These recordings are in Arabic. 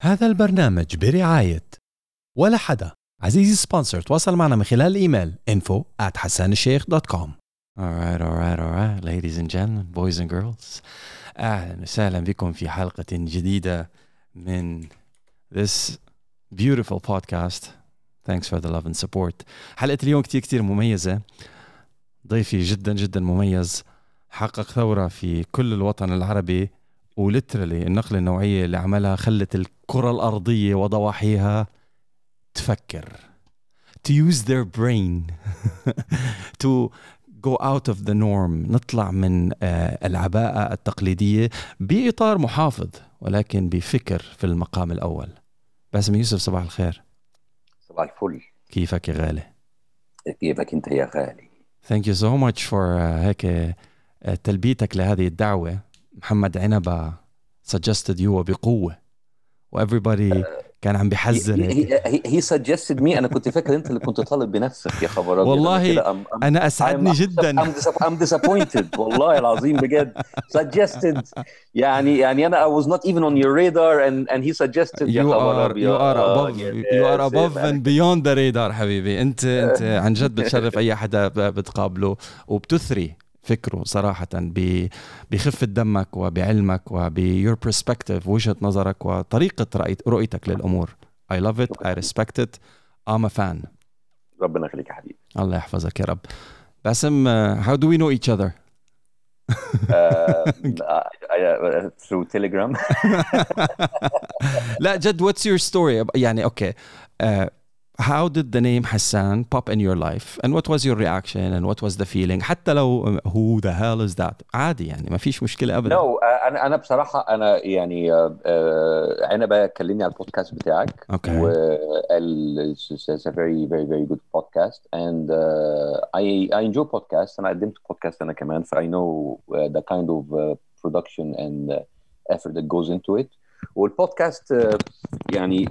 هذا البرنامج برعاية ولا حدا. عزيزي سبونسر، تواصل معنا من خلال الإيميل info@hassanalsheikh.com. Alright, ladies and gentlemen, boys and girls. أهلا وسهلا بكم في حلقة جديدة من this beautiful podcast. Thanks for the love and support. حلقة اليوم كتير مميزة. ضيفي جدا مميز، حقق ثورة في كل الوطن العربي، وليترالي النقلة النوعية اللي عملها خلت الكرة الأرضية وضواحيها تفكر, to use their brain to go out of the norm. نطلع من العباءة التقليدية بإطار محافظ ولكن بفكر في المقام الأول. باسم يوسف، صباح الخير. صباح الفل. كيفك يا غالي؟ كيفك انت يا غالي؟ Thank you so much for هيك تلبيتك لهذه الدعوة. محمد عنبة suggested you بقوة و everybody كان عم بيحذر هيك. he suggested me. انا كنت فاكر انت اللي كنت طالب بنفسك يا خبر ابيض. والله انا اسعدني جدا. I'm disappointed والله العظيم بجد. suggested يعني انا I was not even on your radar and he suggested. you are above and beyond the radar حبيبي. انت عن جد بتشرف اي حدا بتقابله، وبتثري فكره صراحة بخفة دمك وبعلمك وبيور perspective، وجهة نظرك وطريقة رؤيتك للأمور. I love it, I respect it, I'm a fan. ربنا يخليك يا حبيبي. الله يحفظك يا رب. باسم, how do we know each other? through Telegram. لا جد, what's your story? يعني okay, how did the name Hassan pop in your life and what was your reaction and what was the feeling? حتى لو who the hell is that عادي يعني ما فيش مشكلة أبدا. No, أنا بصراحة أنا يعني أنا بكلمني على البودكاست بتاعك. Okay. It's a very good podcast and I enjoy podcasts. أنا قدمت podcast أنا كمان, I know the kind of production and effort that goes into it. والبودكاست يعني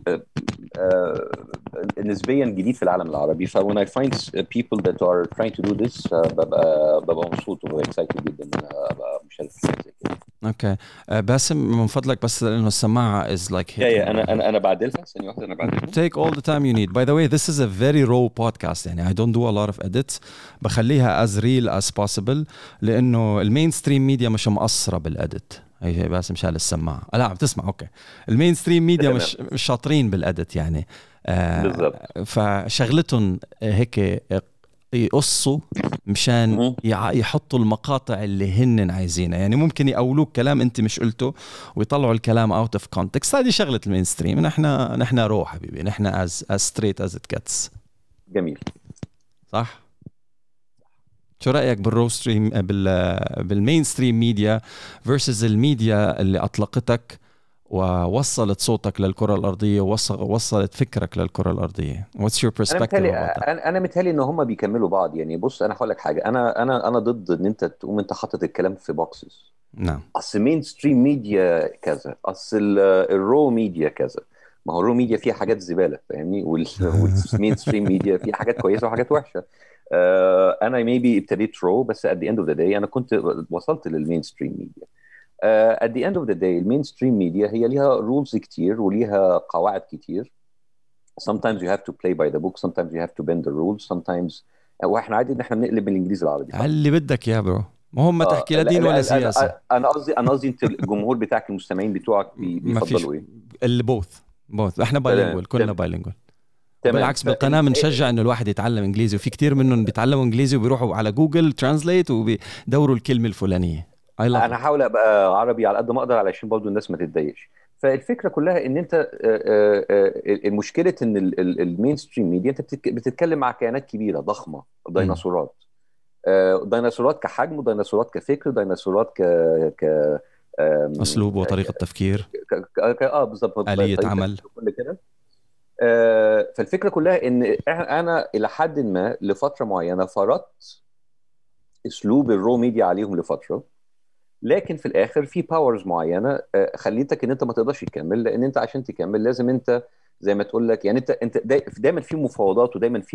نسبيا جديد في العالم العربي. when I find people that are trying to do this ببقى مبسوط وببقى excited جدا ان انا ابقى مشارك في حاجه زي كده. اوكي باسم من فضلك بس لانه السماعه is like انا بعدلها ثانيه واحده. انا بعدلها. take all the time you need. By the way, this is a very raw podcast. يعني I don't do a lot of edits. بخليها as real as possible لانه المين ستريم ميديا مش مقصره بالاديت. هي باسم شال السماعه. لا عم تسمع؟ اوكي. المين ستريم ميديا مش شاطرين بالاديت يعني. بالضبط. فشغلتهم هيك يقصوا مشان يحطوا المقاطع اللي هن عايزينها. يعني ممكن يقولوك كلام انت مش قلته ويطلعوا الكلام out of context. هذه شغلة المينستريم. نحن رو حبيبي. نحن as straight as it gets. جميل. صح؟ شو رأيك بالروستريم بالمينستريم ميديا versus الميديا اللي أطلقتك ووصلت صوتك للكرة الأرضية ووصلت فكرك للكرة الأرضية؟ What's your perspective about that? أنا متهيألي إن هم بيكملوا بعض. يعني بص أنا هقول لك حاجة. أنا ضد إن أنت تقوم أنت حاطط الكلام في بوكسز. نعم. أصل مين ستريم ميديا كذا، أصل الرو ميديا كذا. ما هو الرو ميديا فيها حاجات زبالة فاهمني، والمين ستريم ميديا فيها حاجات كويسة وحاجات وحشة. أنا maybe ابتديت رو بس at the end of the day أنا كنت وصلت للمين ستريم ميديا. at the end of the day المين ستريم ميديا هي ليها رولز كتير وليها قواعد كتير. sometimes you have to play by the book, sometimes you have to bend the rules, sometimes واحنا عادي ان احنا بنقلب من الانجليزي العربي. اللي بدك يا برو، ما هم تحكي لا دين ولا سياسه. انا قصدي انت الجمهور بتاعك المستمعين بتوعك بيفضلوا ايه؟ اللي بوث احنا بايلينجوال، كلنا بايلينجوال. بالعكس بالقناه بنشجع انه الواحد يتعلم انجليزي، وفي كتير منهم بيتعلموا انجليزي وبيروحوا على جوجل ترانسليت وبيدوروا الكلمه الفلانيه. انا هحاول ابقى عربي على قد ما اقدر علشان برضو الناس ما تتضايقش. فالفكره كلها ان انت المشكله ان المين ستريم ميديا انت بتتكلم مع كيانات كبيره ضخمه، ديناصورات. ديناصورات كحجم، وديناصورات كفكر، ديناصورات ك اسلوب وطريقه تفكير، بالظبط، آلية عمل كل كده. فالفكره كلها ان انا الى حد ما لفتره معينه فرضت اسلوب الرو ميديا عليهم لفتره، لكن في الاخر في باورز معينه خليتك ان انت ما تقدرش تكمل، لان انت عشان تكمل لازم انت زي ما تقول لك، يعني انت دايما في مفاوضات ودايما في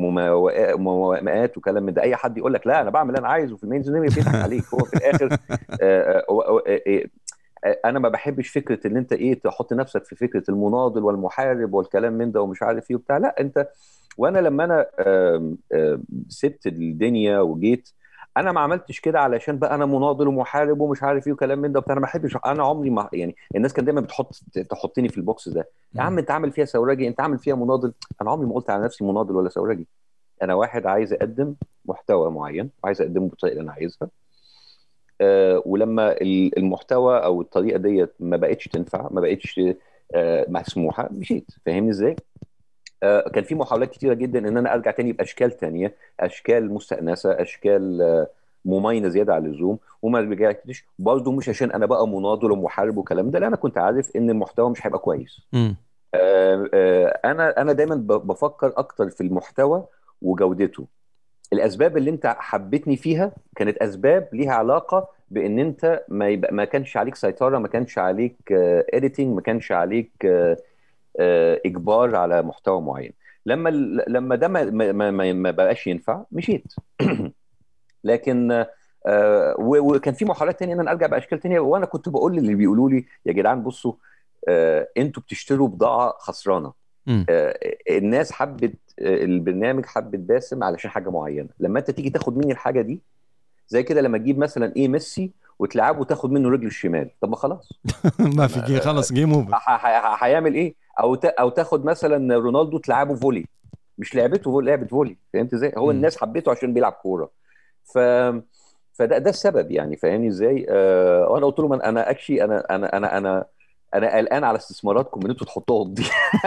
موائمات وكلام من ده. اي حد يقول لك لا انا بعمل اللي انا عايزه في المين ستريم بيضحك عليك. هو في الاخر انا ما بحبش فكره ان انت ايه تحط نفسك في فكره المناضل والمحارب والكلام من ده ومش عارف ايه وبتاع. لا انت، وانا لما انا سبت الدنيا وجيت، انا ما عملتش كده علشان بقى انا مناضل ومحارب ومش عارف ايه وكلام من ده وبتاع. انا ما بحبش، انا عمري ما يعني، الناس كانت دايما تحطني في البوكس ده. يا عم انت عامل فيها ثورجي، انت عامل فيها مناضل. انا عمري ما قلت على نفسي مناضل ولا ثورجي. انا واحد عايز اقدم محتوى معين وعايز اقدمه بالطريقه اللي انا عايزها. ولما المحتوى او الطريقه ديت ما بقتش تنفع، ما بقتش مسموحه، مشيت. فاهمني ازاي؟ كان في محاولات كتيره جدا ان انا ارجع تاني باشكال تانية، اشكال مستانسه، اشكال مميزه زياده عن اللزوم، وما رجعتش برضه. مش عشان انا بقى مناضل ومحارب والكلام ده، لا، انا كنت عارف ان المحتوى مش هيبقى كويس. امم. انا دايما بفكر اكتر في المحتوى وجودته. الاسباب اللي انت حبتني فيها كانت اسباب ليها علاقه بان انت ما كانش عليك سيطره، ما كانش عليك اديتنج، ما كانش عليك اجبار على محتوى معين. لما ده ما بقاش ينفع، مشيت. لكن وكان في محاولات تانية ان انا ارجع باشكال تانية، وانا كنت بقول للي بيقولوا لي يا جدعان بصوا، انتوا بتشتروا بضاعه خسرانه. امم. الناس حبت البرنامج، حبت باسم علشان حاجه معينه. لما انت تيجي تاخد مني الحاجه دي، زي كده لما تجيب مثلا ايه ميسي وتلعبه وتاخد منه رجله الشمال، طب ما خلاص. ما في خلص جيم اوفر. هيعمل ايه؟ او تاخد مثلا رونالدو تلعبه فولي، مش لعبته لعبه فولي. فهمت ازاي؟ هو امم. الناس حبيته عشان بيلعب كوره. ف فده السبب يعني. فاهمني ازاي؟ وانا قلت لهم انا اكشي، انا قلقان على استثماراتكم ان انتوا تحطوها دي.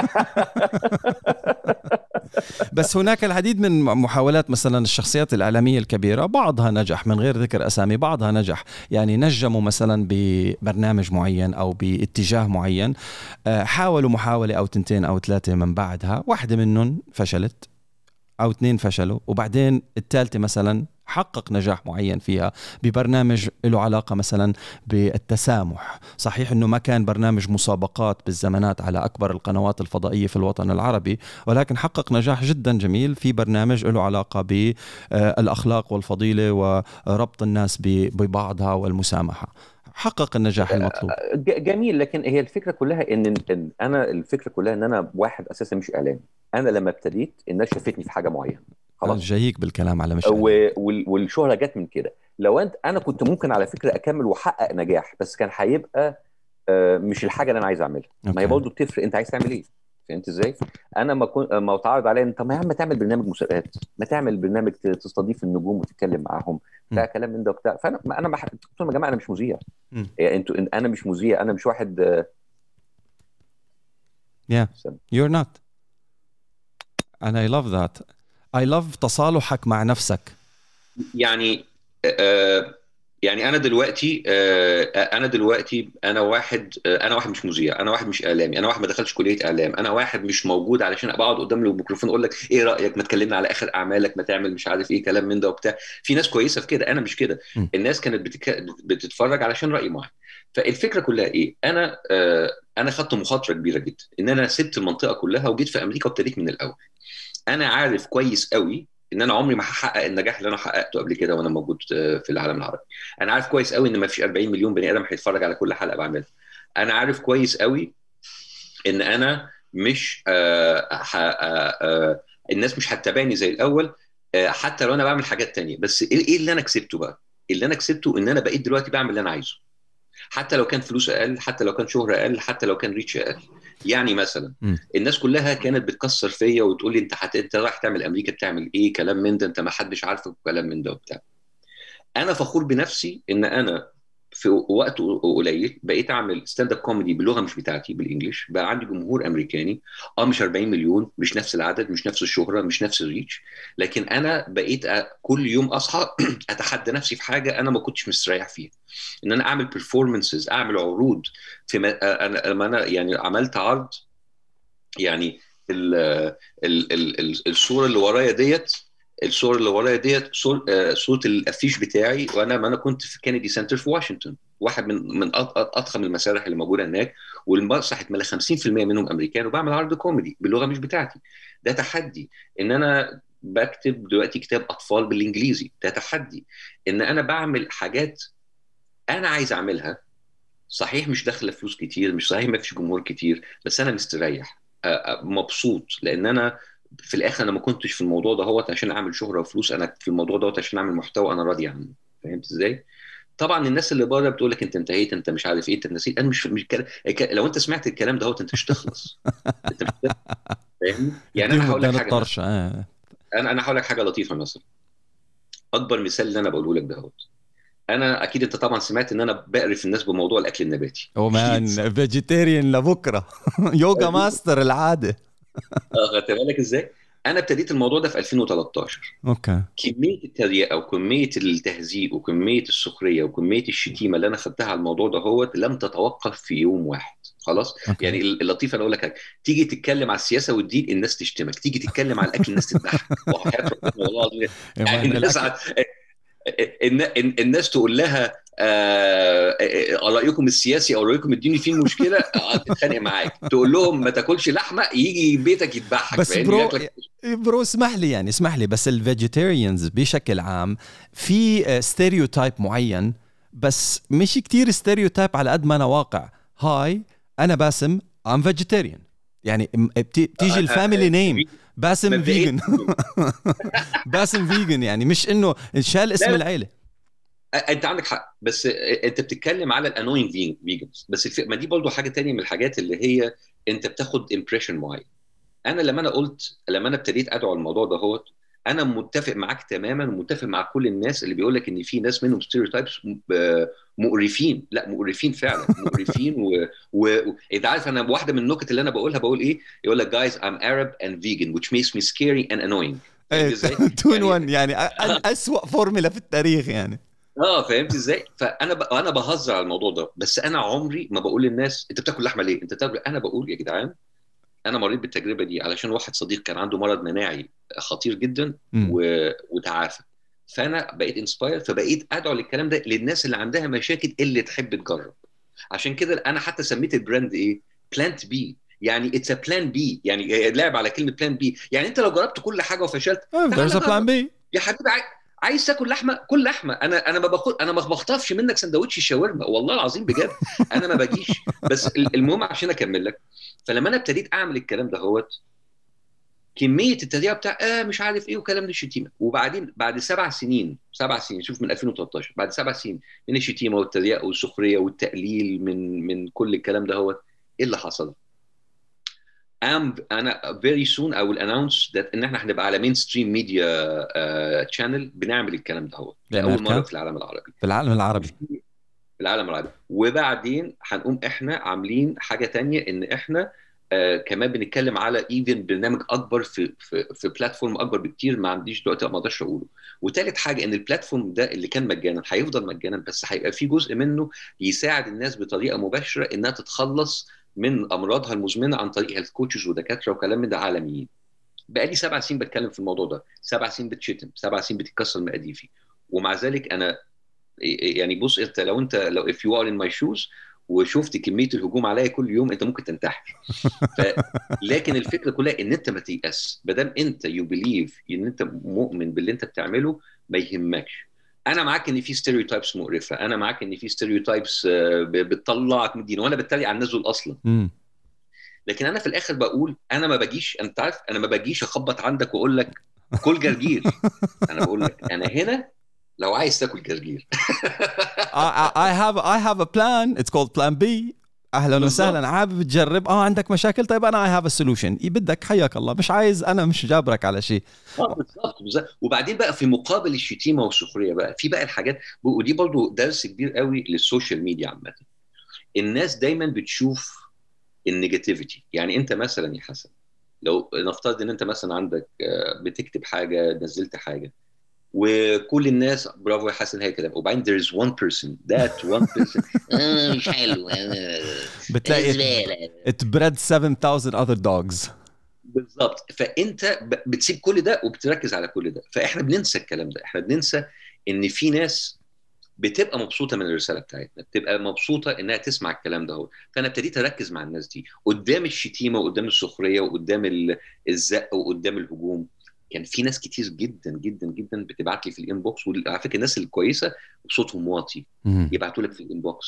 بس هناك العديد من محاولات، مثلا الشخصيات الإعلامية الكبيرة بعضها نجح من غير ذكر أسامي، بعضها نجح، يعني نجموا مثلا ببرنامج معين أو باتجاه معين، حاولوا محاولة أو تنتين أو ثلاثة، من بعدها واحدة منهم فشلت أو اثنين فشلوا، وبعدين الثالثة مثلا حقق نجاح معين فيها ببرنامج له علاقة مثلا بالتسامح. صحيح أنه ما كان برنامج مسابقات بالزمانات على أكبر القنوات الفضائية في الوطن العربي، ولكن حقق نجاح جدا جميل في برنامج له علاقة بالأخلاق والفضيلة وربط الناس ببعضها والمسامحة، حقق النجاح المطلوب. جميل. لكن هي الفكره كلها إن انا الفكره كلها ان انا واحد اساسا مش اعلامي. انا لما ابتديت الناس شافتني في حاجه معينه، خلاص. جايك بالكلام على مش إعلامي. والشهره جت من كده. لو انا كنت ممكن على فكره اكمل واحقق نجاح، بس كان هيبقى مش الحاجه اللي انا عايز اعملها. ما هي أوكي. برضه بتفرق، انت عايز تعمل ايه. فهمت ازاي؟ انا ما اتعرض عليا انت، ما يا عم تعمل برنامج مسابقات، ما تعمل برنامج تستضيف النجوم وتتكلم معاهم م. بتاع كلام من ده وبتاع. فانا قلت لهم يا جماعه انا مش مذيع. م. يعني انتوا، انا مش مذيع، انا مش واحد Yeah, استنى. you're not. and I love that. I love تصالحك مع نفسك. يعني يعني انا دلوقتي انا واحد مش مذيع، انا واحد مش اعلامي، انا واحد ما دخلش كليه اعلام، انا واحد مش موجود علشان ابقى اقعد قدام الميكروفون اقول لك ايه رايك، ما تكلمنا على اخر اعمالك، ما تعمل مش عارف ايه كلام من ده وبتاع. في ناس كويسه في كده، انا مش كده. م. الناس كانت بتتفرج علشان راي معين. فالفكره كلها ايه؟ انا خدت مخاطره كبيره جدا ان انا سبت المنطقه كلها وجيت في امريكا وابتديت من الاول. انا عارف كويس قوي ان انا عمري ما هحقق النجاح اللي انا حققته قبل كده وانا موجود في العالم العربي. انا عارف كويس قوي ان ما فيش 40 مليون بني ادم هيتفرج على كل حلقه بعملها. انا عارف كويس قوي ان انا مش الناس مش هتتابعني زي الاول، حتى لو انا بعمل حاجات تانية. بس ايه اللي انا كسبته بقى؟ اللي انا كسبته ان انا بقيت دلوقتي بعمل اللي انا عايزه، حتى لو كان فلوس اقل، حتى لو كان شهره اقل، حتى لو كان ريتش اقل. يعني مثلا م. الناس كلها كانت بتكسر فيا وتقول لي انت رايح تعمل امريكا بتعمل ايه كلام من ده، انت ما حدش عارفك كلام من ده وبتاع. انا فخور بنفسي ان انا في وقت قليل بقيت اعمل ستاند اب كوميدي باللغه مش بتاعتي، بالانجلش. بقى عندي جمهور امريكاني، مش 40 مليون، مش نفس العدد، مش نفس الشهره، مش نفس الريتش. لكن انا بقيت كل يوم اصحى اتحدى نفسي في حاجه انا ما كنتش مستريح فيها، ان انا اعمل performances، اعمل عروض. لما انا يعني عملت عرض، يعني ال الصوره اللي ورايا ديت، صوره الافيش بتاعي، ما انا كنت في كينيدي سنتر في واشنطن، واحد من اضخم المسارح اللي موجوده هناك، والمسرح اتملى 50% منهم امريكان، وبعمل عرض كوميدي باللغه مش بتاعتي. ده تحدي. ان انا بكتب دلوقتي كتاب اطفال بالانجليزي، ده تحدي. ان انا بعمل حاجات انا عايز اعملها صحيح مش داخله فلوس كتير، مش صحيح ما فيش جمهور كتير، بس انا مستريح، مبسوط، لان انا في الاخر انا ما كنتش في الموضوع ده هو عشان اعمل شهره وفلوس، انا في الموضوع ده عشان اعمل محتوى انا راضي عنه. فهمت ازاي؟ طبعا الناس اللي بره بتقول لك انت انتهيت، انت مش عارف ايه، انت نسيت. انا مش لو انت سمعت الكلام ده انت مش تخلص، انت مش تخلص. فاهمني؟ يعني انا اديهم هقول لك الدين حاجه مثلا، الطرش. انا هقول لك حاجه لطيفه مثلا. اكبر مثال اللي انا بقوله لك انا اكيد انت طبعا سمعت ان انا بقرف الناس بموضوع الاكل النباتي. او اكيد. مان فيجيتيريان لبكره. يوجا ماستر العاده. خدت بالك ازاي؟ انا ابتديت الموضوع ده في 2013. اوكي. كميه التريقه وكميه التهزيء وكميه السخريه وكميه الشتيمه اللي انا خدتها على الموضوع ده لم تتوقف في يوم واحد. خلاص. اوكي. يعني اللطيف انا اقول لك حاجه، تيجي تتكلم على السياسه والدين الناس تشتمك، تيجي تتكلم على الاكل الناس تضحك، وحياه ربنا والله العظيم. يا يعني مان الناس الاكل. الناس تقول لها رايكم السياسي او رايكم الديني فيه المشكله، تتخانق معاك. تقول لهم ما تاكلش لحمه، يجي بيتك يذبحك. بس فاهمني؟ برو، ياكلك. برو اسمح لي يعني، اسمح لي، بس الفيجيتيريانز بشكل عام في ستيريوتايب معين، بس مش كتير ستيريوتايب على قد ما انا واقع. هاي انا باسم ام فيجيتيريان، يعني بتيجي الفاميلي نيم باسم مبدئيا فيجن. باسم فيجن، يعني مش انه شال لا اسم لا، العيله. انت عندك حق، بس انت بتتكلم على الانوين فيجنز بس. ما دي برضو حاجه تانية من الحاجات اللي هي انت بتاخد امبريشن معين. انا لما انا ابتديت ادعو الموضوع انا متفق معاك تماما، ومتفق مع كل الناس اللي بيقول لك ان في ناس منهم ستيريوتايبس مقرفين. لا، مقرفين فعلا، مقرفين. انت عارف انا واحده من النكت اللي انا بقولها بقول ايه؟ يقول لك guys I'm Arab and vegan which makes me scary and annoying. فاهمني ازاي؟ تون يعني وان يعني أسوأ فورمولا في التاريخ يعني. فهمت ازاي؟ انا بهزر على الموضوع ده، بس انا عمري ما بقول للناس انت بتاكل لحمه ليه، انت بتاكل. انا بقول يا جدعان، انا مريت بالتجربه دي علشان واحد صديق كان عنده مرض مناعي خطير جدا امم. وتعافى. فانا بقيت انسباير، فبقيت ادعو للكلام ده للناس اللي عندها مشاكل اللي تحب تجرب. عشان كده انا حتى سميت البراند ايه؟ بلانت بي. يعني اتس ا بلان بي، يعني لعب على كلمه بلان بي. يعني انت لو جربت كل حاجه وفشلت، there's تعال a plan جرب. B. يا حبيبي، عايز تاكل لحمه كل لحمه. انا ما بخطفش منك سندوتش شاورما، والله العظيم بجد. انا ما باجيش. بس المهم عشان اكمل لك، فلما انا ابتديت اعمل الكلام ده كميه التريقه بتاع مش عارف ايه وكلام من الشتيمه. وبعدين بعد 7 سنين، 7 سنين، شوف، من 2013، بعد 7 سنين من الشتيمه والتريقه والسخريه والتقليل من كل الكلام ايه اللي حصل؟ انا very soon I will announce that ان احنا هنبقى على مين ستريم ميديا تشانل بنعمل الكلام لاول مره بأمريكا، في العالم العربي. في العالم العربي. في العالم العربي. وبعدين هنقوم احنا عاملين حاجه تانية، ان احنا كمان بنتكلم على ايفن برنامج اكبر في بلاتفورم اكبر بكتير، ما عنديش دلوقتي ما اقدرش اقوله. وثالث حاجه، ان البلاتفورم ده اللي كان مجانا هيفضل مجانا، بس هيبقى في جزء منه يساعد الناس بطريقه مباشره انها تتخلص من امراضها المزمنه عن طريق هيلث كوتشز ودكاتره وكلام من ده عالميين. بقالي 7 سنين بتكلم في الموضوع ده، 7 سنين بتشتم، 7 سنين بتتكسر مقاديفي، ومع ذلك انا يعني بص، انت لو if you are in my shoes وشفت كميه الهجوم عليا كل يوم، انت ممكن تنتحر. ف لكن الفكره كلها ان انت ما تيأس، ما دام انت يو بليف ان انت مؤمن باللي انت بتعمله، ما يهمكش. انا معاك ان في ستيريوتايبس مقرفه، انا معاك ان في ستيريوتايبس بتطلعك من الدين، وانا بتريق على الناس دول اصلا. امم. لكن انا في الاخر بقول انا ما باجيش، انت عارف، انا ما باجيش اخبط عندك واقول لك كل جرجير. انا بقول لك انا هنا لو عايز تاكل جرجير. I have a plan, it's called plan B. اهلا بالظبط. وسهلا، حابب تجرب؟ عندك مشاكل؟ طيب انا I have a solution. بدك حياك الله، مش عايز انا مش جابرك على شيء. بالظبط. وبعدين بقى في مقابل الشتيمه والسخريه بقى في بقى الحاجات، ودي برضو درس كبير قوي للسوشيال ميديا عامه. الناس دايما بتشوف النيجاتيفيتي. يعني انت مثلا يا حسن، لو نفترض ان انت مثلا عندك بتكتب حاجه، نزلت حاجه، وكل الناس برافو يا حسن هي كده، وبعدين there is one person that one person مش حلو، بتلاقي زباله. it bred 7,000 other dogs. بالظبط. فانت بتسيب كل ده وبتركز على كل ده. فاحنا بننسى الكلام ده، احنا بننسى ان في ناس بتبقى مبسوطه من الرساله بتاعتنا، بتبقى مبسوطه انها تسمع الكلام ده. فانا ابتديت اركز مع الناس دي قدام الشتيمه وقدام السخريه وقدام الزق وقدام الهجوم. كان في ناس كتير جدا جدا جدا بتبعت لي في الانبوكس، وعلى فكره الناس الكويسه صوتهم واطي، يبعتوا لك في الانبوكس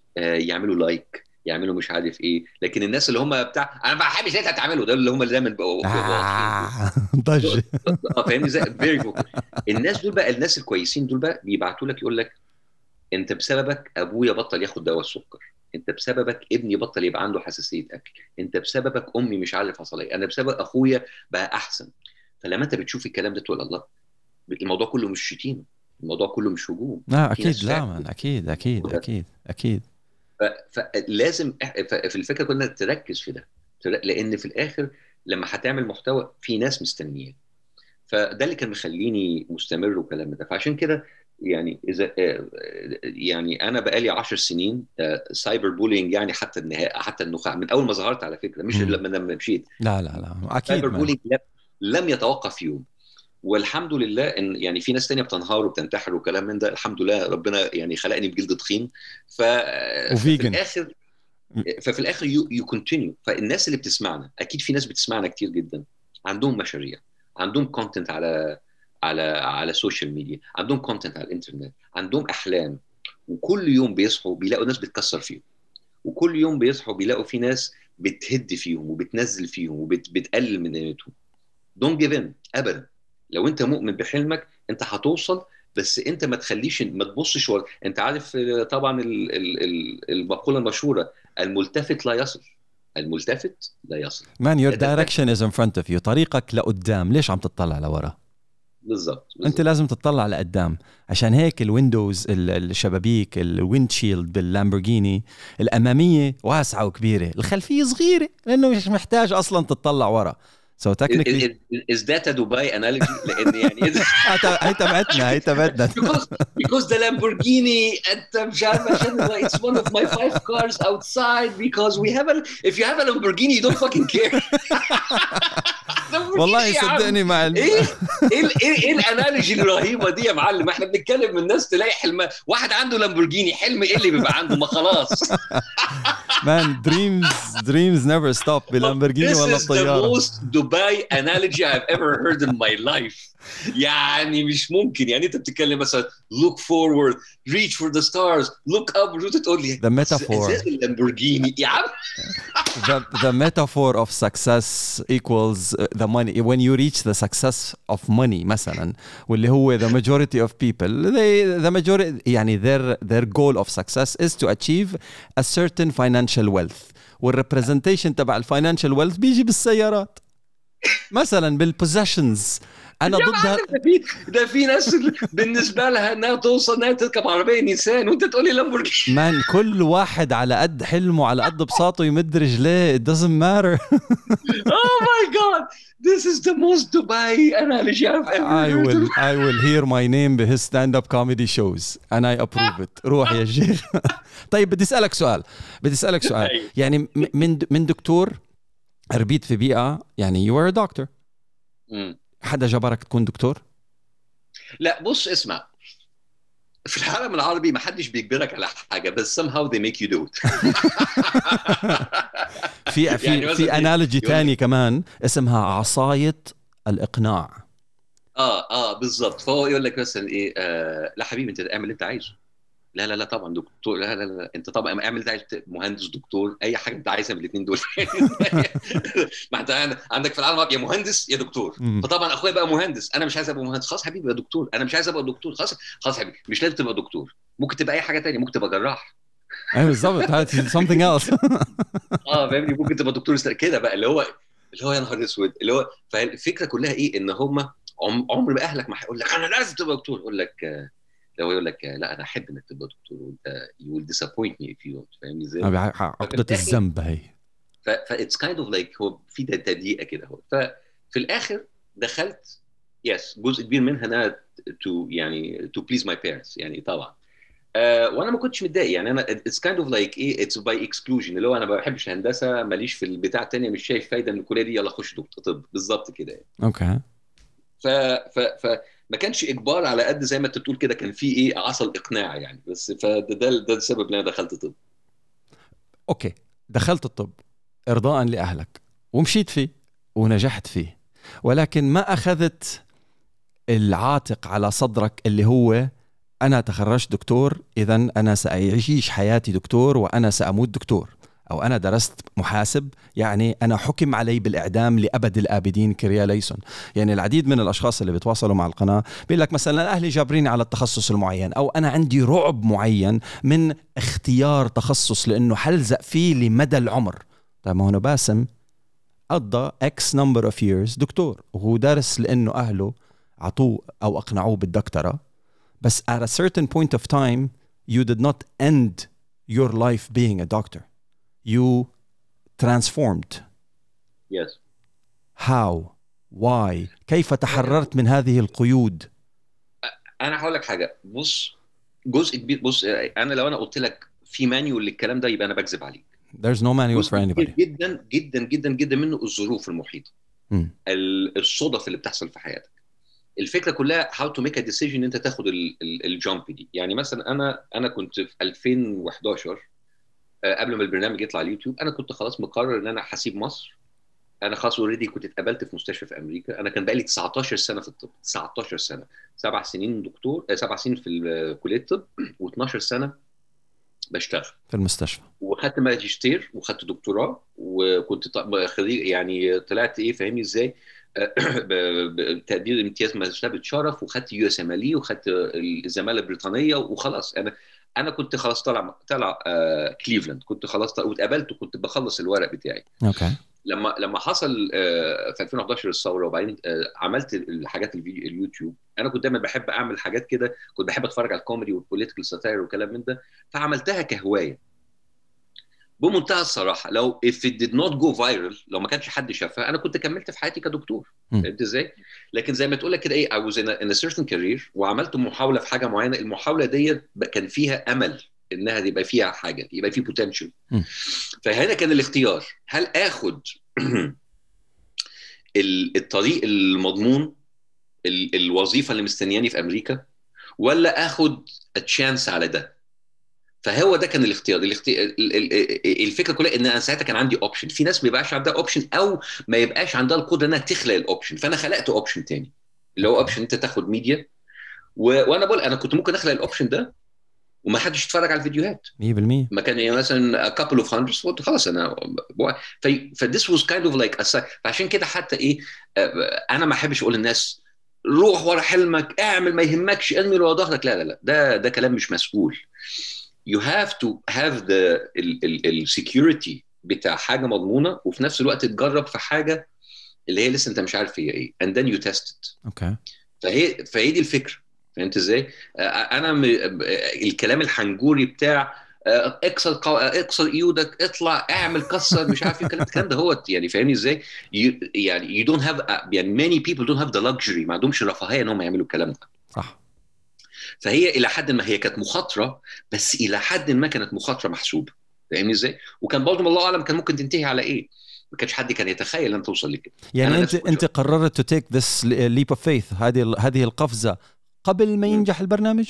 يعملوا لايك، يعملوا مش عارف ايه. لكن الناس اللي هم بتاع انا ما بحبش اللي انت هتعمله ده، اللي هم اللي دايما بيبقوا واضحين ضجة. فاهمني زي فيري فوكال. الناس دول بقى، الناس الكويسين دول بقى بيبعتوا لك يقول لك انت بسببك ابويا بطل ياخد دواء السكر، انت بسببك ابني بطل يبقى عنده حساسيه اكل، انت بسببك امي مش عارف حصل ايه، انا بسبب اخويا بقى احسن. فلما انت بتشوف الكلام ده تقول الله، الموضوع كله مش شتيمه، الموضوع كله مش هجوم. في اكيد، ناس لا فعلا من اكيد اكيد اكيد اكيد. فلازم في الفكره كلنا تركز في ده، لان في الاخر لما هتعمل محتوى في ناس مستنياه. فده اللي كان مخليني مستمر وكلام ده. فعشان كده يعني اذا يعني انا بقالي 10 سنين سايبر بولينج، يعني حتى النهايه، حتى النخاع من اول ما ظهرت على فكره، مش لما مشيت. لا لا لا اكيد سايبر مان. بولينج لم يتوقف يوم. والحمد لله ان يعني في ناس تانية بتنهار وبتنتحر وكلام من ده، الحمد لله ربنا يعني خلقني بجلد تخين. ففي وفيجن. الاخر ففي الاخر يو كونتينيو. فالناس اللي بتسمعنا، اكيد في ناس بتسمعنا كتير جدا عندهم مشاريع، عندهم كونتنت على السوشيال ميديا، عندهم كونتنت على الانترنت، عندهم احلام. وكل يوم بيصحوا بيلاقوا ناس بتكسر فيهم، وكل يوم بيصحوا بيلاقوا في ناس بتهد فيهم وبتنزل فيهم وبتقلل من قيمتهم. دونت جيف ان ابدا. لو انت مؤمن بحلمك انت هتوصل، بس انت ما تخليش، ما تبصش انت عارف طبعا المقوله المشهوره، الملتفت لا يصل. الملتفت لا يصل. Man, your ده direction is in front of you. طريقك لقدام، ليش عم تطلع لورا؟ بالظبط انت لازم تطلع لقدام. عشان هيك الويندوز، الشبابيك، الويند شيلد باللامبورجيني الاماميه واسعه وكبيره، الخلفيه صغيره لانه مش محتاج اصلا تطلع ورا. So technically is that a Dubai analogy؟ لان يعني هي تبعتنا because the Lamborghini انت مش عارف عشان it's one of my 5 cars outside because we have if you have a Lamborghini you don't fucking care. والله صدقني مع ايه الانالوجي الرهيبه دي يا معلم؟ احنا بنتكلم من الناس تلاقي حلم واحد عنده لامبورجيني، حلم ايه اللي بيبقى عنده؟ ما خلاص. Man, dreams never stop بلامبورجيني ولا الطياره. This is the most Dubai analogy I've ever heard in my life. يعني مش ممكن. يعني انت بتتكلم مثلا look forward, reach for the stars, look up، تقول لي the metaphor اللامبورجيني يا عم. the metaphor of success equals the money. When you reach the success of money مثلا، واللي هو the majority of people the majority يعني their goal of success is to achieve a certain financial wealth. والrepresentation تبع الفاينانشال wealth بيجي بالسيارات مثلا، بالpossessions. انا ضد ده في ناس بالنسبه لها انها توصل انها تركب عربيه نيسان وانت تقولي لامبورجيني. مان كل واحد على قد حلمه، على قد بساطه يمد رجليه. It doesn't matter. Oh my god, this is the most Dubai analogy I've ever heard. I will hear my name بhis stand-up comedy shows and I approve it. روح يا شيخ. طيب بدي اسالك سؤال يعني من دكتور ربيت في بيئه، يعني you were a doctor. حدا جبرك تكون دكتور؟ لا بص اسمع، في العالم العربي ما حدش بيجبرك على حاجه، بس somehow they make you do it. في انالوجي تاني كمان اسمها عصايه الاقناع. بالظبط. فهو يقول لك مثلا ايه، لا حبيبي انت اعمل اللي انت عايزه. لا طبعا دكتور، لا انت طبعا اعمل اللي انت عايزه، مهندس دكتور اي حاجه انت عايزها من الاثنين دول. ما انت عندك في العالم يا مهندس يا دكتور. فطبعا اخويا بقى مهندس، انا مش عايز ابقى مهندس، خلاص حبيبي يا دكتور. انا مش عايز ابقى دكتور، خلاص حبيبي مش لازم تبقى دكتور، ممكن تبقى اي حاجه تانية، ممكن تبقى جراح. ايوه بالظبط، هات something else. فاهمني، ممكن تبقى دكتور كده بقى، اللي هو يا نهار اسود، اللي هو فالفكره كلها ايه، ان هم عمر ما اهلك ما هيقول لك انا لازم تبقى دكتور. يقول لك لو يقول لك لا انا احب انك تبقى دكتور، وانت you will disappoint me if you don't. فاهمني ازاي؟ عقدة الذنب هي. فايتس كايند اوف لايك هو في تضييقه كده. هو ففي الاخر دخلت جزء كبير منها انا to please my parents يعني طبعا. وانا ما كنتش متضايق يعني. انا اتس كايند اوف لايك ايه، اتس باي اكسكلوجن، اللي هو انا ما بحبش الهندسه، ماليش في البتاع الثانيه، مش شايف فايده من الكليه دي، يلا خش طب بالظبط كده يعني. اوكي. ما كانش اجبار على قد زي ما انت بتقول كده، كان في ايه عصا الاقناع يعني. بس ده السبب اللي انا دخلت طب. اوكي، دخلت الطب ارضاء لاهلك ومشيت فيه ونجحت فيه، ولكن ما اخذت العاتق على صدرك اللي هو أنا تخرجت دكتور، إذن أنا سأعيش حياتي دكتور وأنا سأموت دكتور. أو أنا درست محاسب، يعني أنا حكم علي بالإعدام لأبد الآبدين كريا ليسون. يعني العديد من الأشخاص اللي بيتواصلوا مع القناة بيقول لك مثلا أهلي جابريني على التخصص المعين، أو أنا عندي رعب معين من اختيار تخصص لأنه حلزق فيه لمدى العمر. طيب ما هو باسم قضى X number of years دكتور، وهو دارس لأنه أهله عطوه أو أقنعوه بالدكتوراه، بس at a certain point of time you did not end your life being a doctor. You transformed. Yes. How? Why? كيف تحررت من هذه القيود؟ أنا هقول لك حاجة. بص، جزء كبير. بص، أنا لو قلت لك في مانيول للكلام ده يبقى أنا بكذب عليك. There's no manual for anybody. جدا جدا جدا جدا منه الظروف المحيطة، الصدف اللي بتحصل في حياتك. الفكرة كلها how to make a decision إن أنت تاخد الجامب دي. يعني مثلا أنا كنت في 2011 قبل ما البرنامج يطلع على اليوتيوب، أنا كنت خلاص مقرر إن أنا هسيب مصر. أنا خلاص اوريدي كنت اتقبلت في مستشفى في أمريكا. أنا كان بقالي 19 سنة في الطب، 19 سنة، 7 سنين دكتور، 7 سنين في كلية الطب، و12 سنة بشتغل في المستشفى. وخدت ماجستير وخدت دكتوراه، وكنت خريج، يعني طلعت ايه فاهمني ازاي، بتقدير امتياز مرتبة شرف، وخدت يو اس ام ال، وخدت الزمالة البريطانية، وخلاص انا كنت خلاص طالع كليفلاند، كنت خلاص واتقبلت، وكنت بخلص الورق بتاعي. اوكي. لما حصل في 2011 الثوره، وبعدين عملت الحاجات الفيديو اليوتيوب. انا كنت دايما بحب اعمل حاجات كده، كنت بحب اتفرج على الكوميدي والبوليتيكال ساتاير وكلام من ده، فعملتها كهوايه بمنتهى الصراحه. لو if it did not go viral، لو ما كانش حد شافها، انا كنت كملت في حياتي كدكتور. فهمت ازاي؟ لكن زي ما تقول لك كده ايه، I was in a certain career، وعملت محاوله في حاجه معينه. المحاوله دي كان فيها امل انها يبقى فيها حاجه، يبقى في بوتنشال. فهنا كان الاختيار، هل اخد الطريق المضمون، الوظيفه اللي مستنياني في امريكا، ولا اخد تشانس على ده؟ فهو ده كان الاختيار. الفكره كلها ان انا ساعتها كان عندي اوبشن. في ناس ما يبقاش عندها اوبشن، او ما يبقاش عندها القدره انها تخلق الاوبشن. فانا خلقت اوبشن تاني، اللي هو اوبشن انت تاخد ميديا. وانا بقول انا كنت ممكن اخلق الاوبشن ده وما حدش يتفرج على الفيديوهات 100%. ما كان يعني مثلا a couple of hundreds، قلت خلاص انا this was kind of like فعشان كده حتى ايه، انا ما احبش اقول للناس روح ورا حلمك، اعمل، ما يهمكش، ارمي ورا ظهرك. لا لا لا، ده كلام مش مسؤول. you have to have the security بتاع حاجه مضمونه، وفي نفس الوقت تجرب في حاجه اللي هي لسه انت مش عارف هي ايه، and then you test it. اوكي. فهي دي الفكره. فهمت ازاي؟ انا الكلام الحنجوري بتاع اكسر ايدك، اطلع، اعمل، كسر، مش عارف ايه الكلام ده هو يعني فاهمني ازاي؟ يعني you don't have يعني many people don't have the luxury، ما عندهمش الرفاهيه انهم يعملوا الكلام ده. صح. فهي الى حد ما هي كانت مخاطره، بس الى حد ما كانت مخاطره محسوبه. فاهمني ازاي؟ وكان برضه الله اعلم كان ممكن تنتهي على ايه. ما كانش حد كان يتخيل ان توصل لكده. يعني انت قررت to take this leap of faith، هذه القفزه قبل ما ينجح البرنامج؟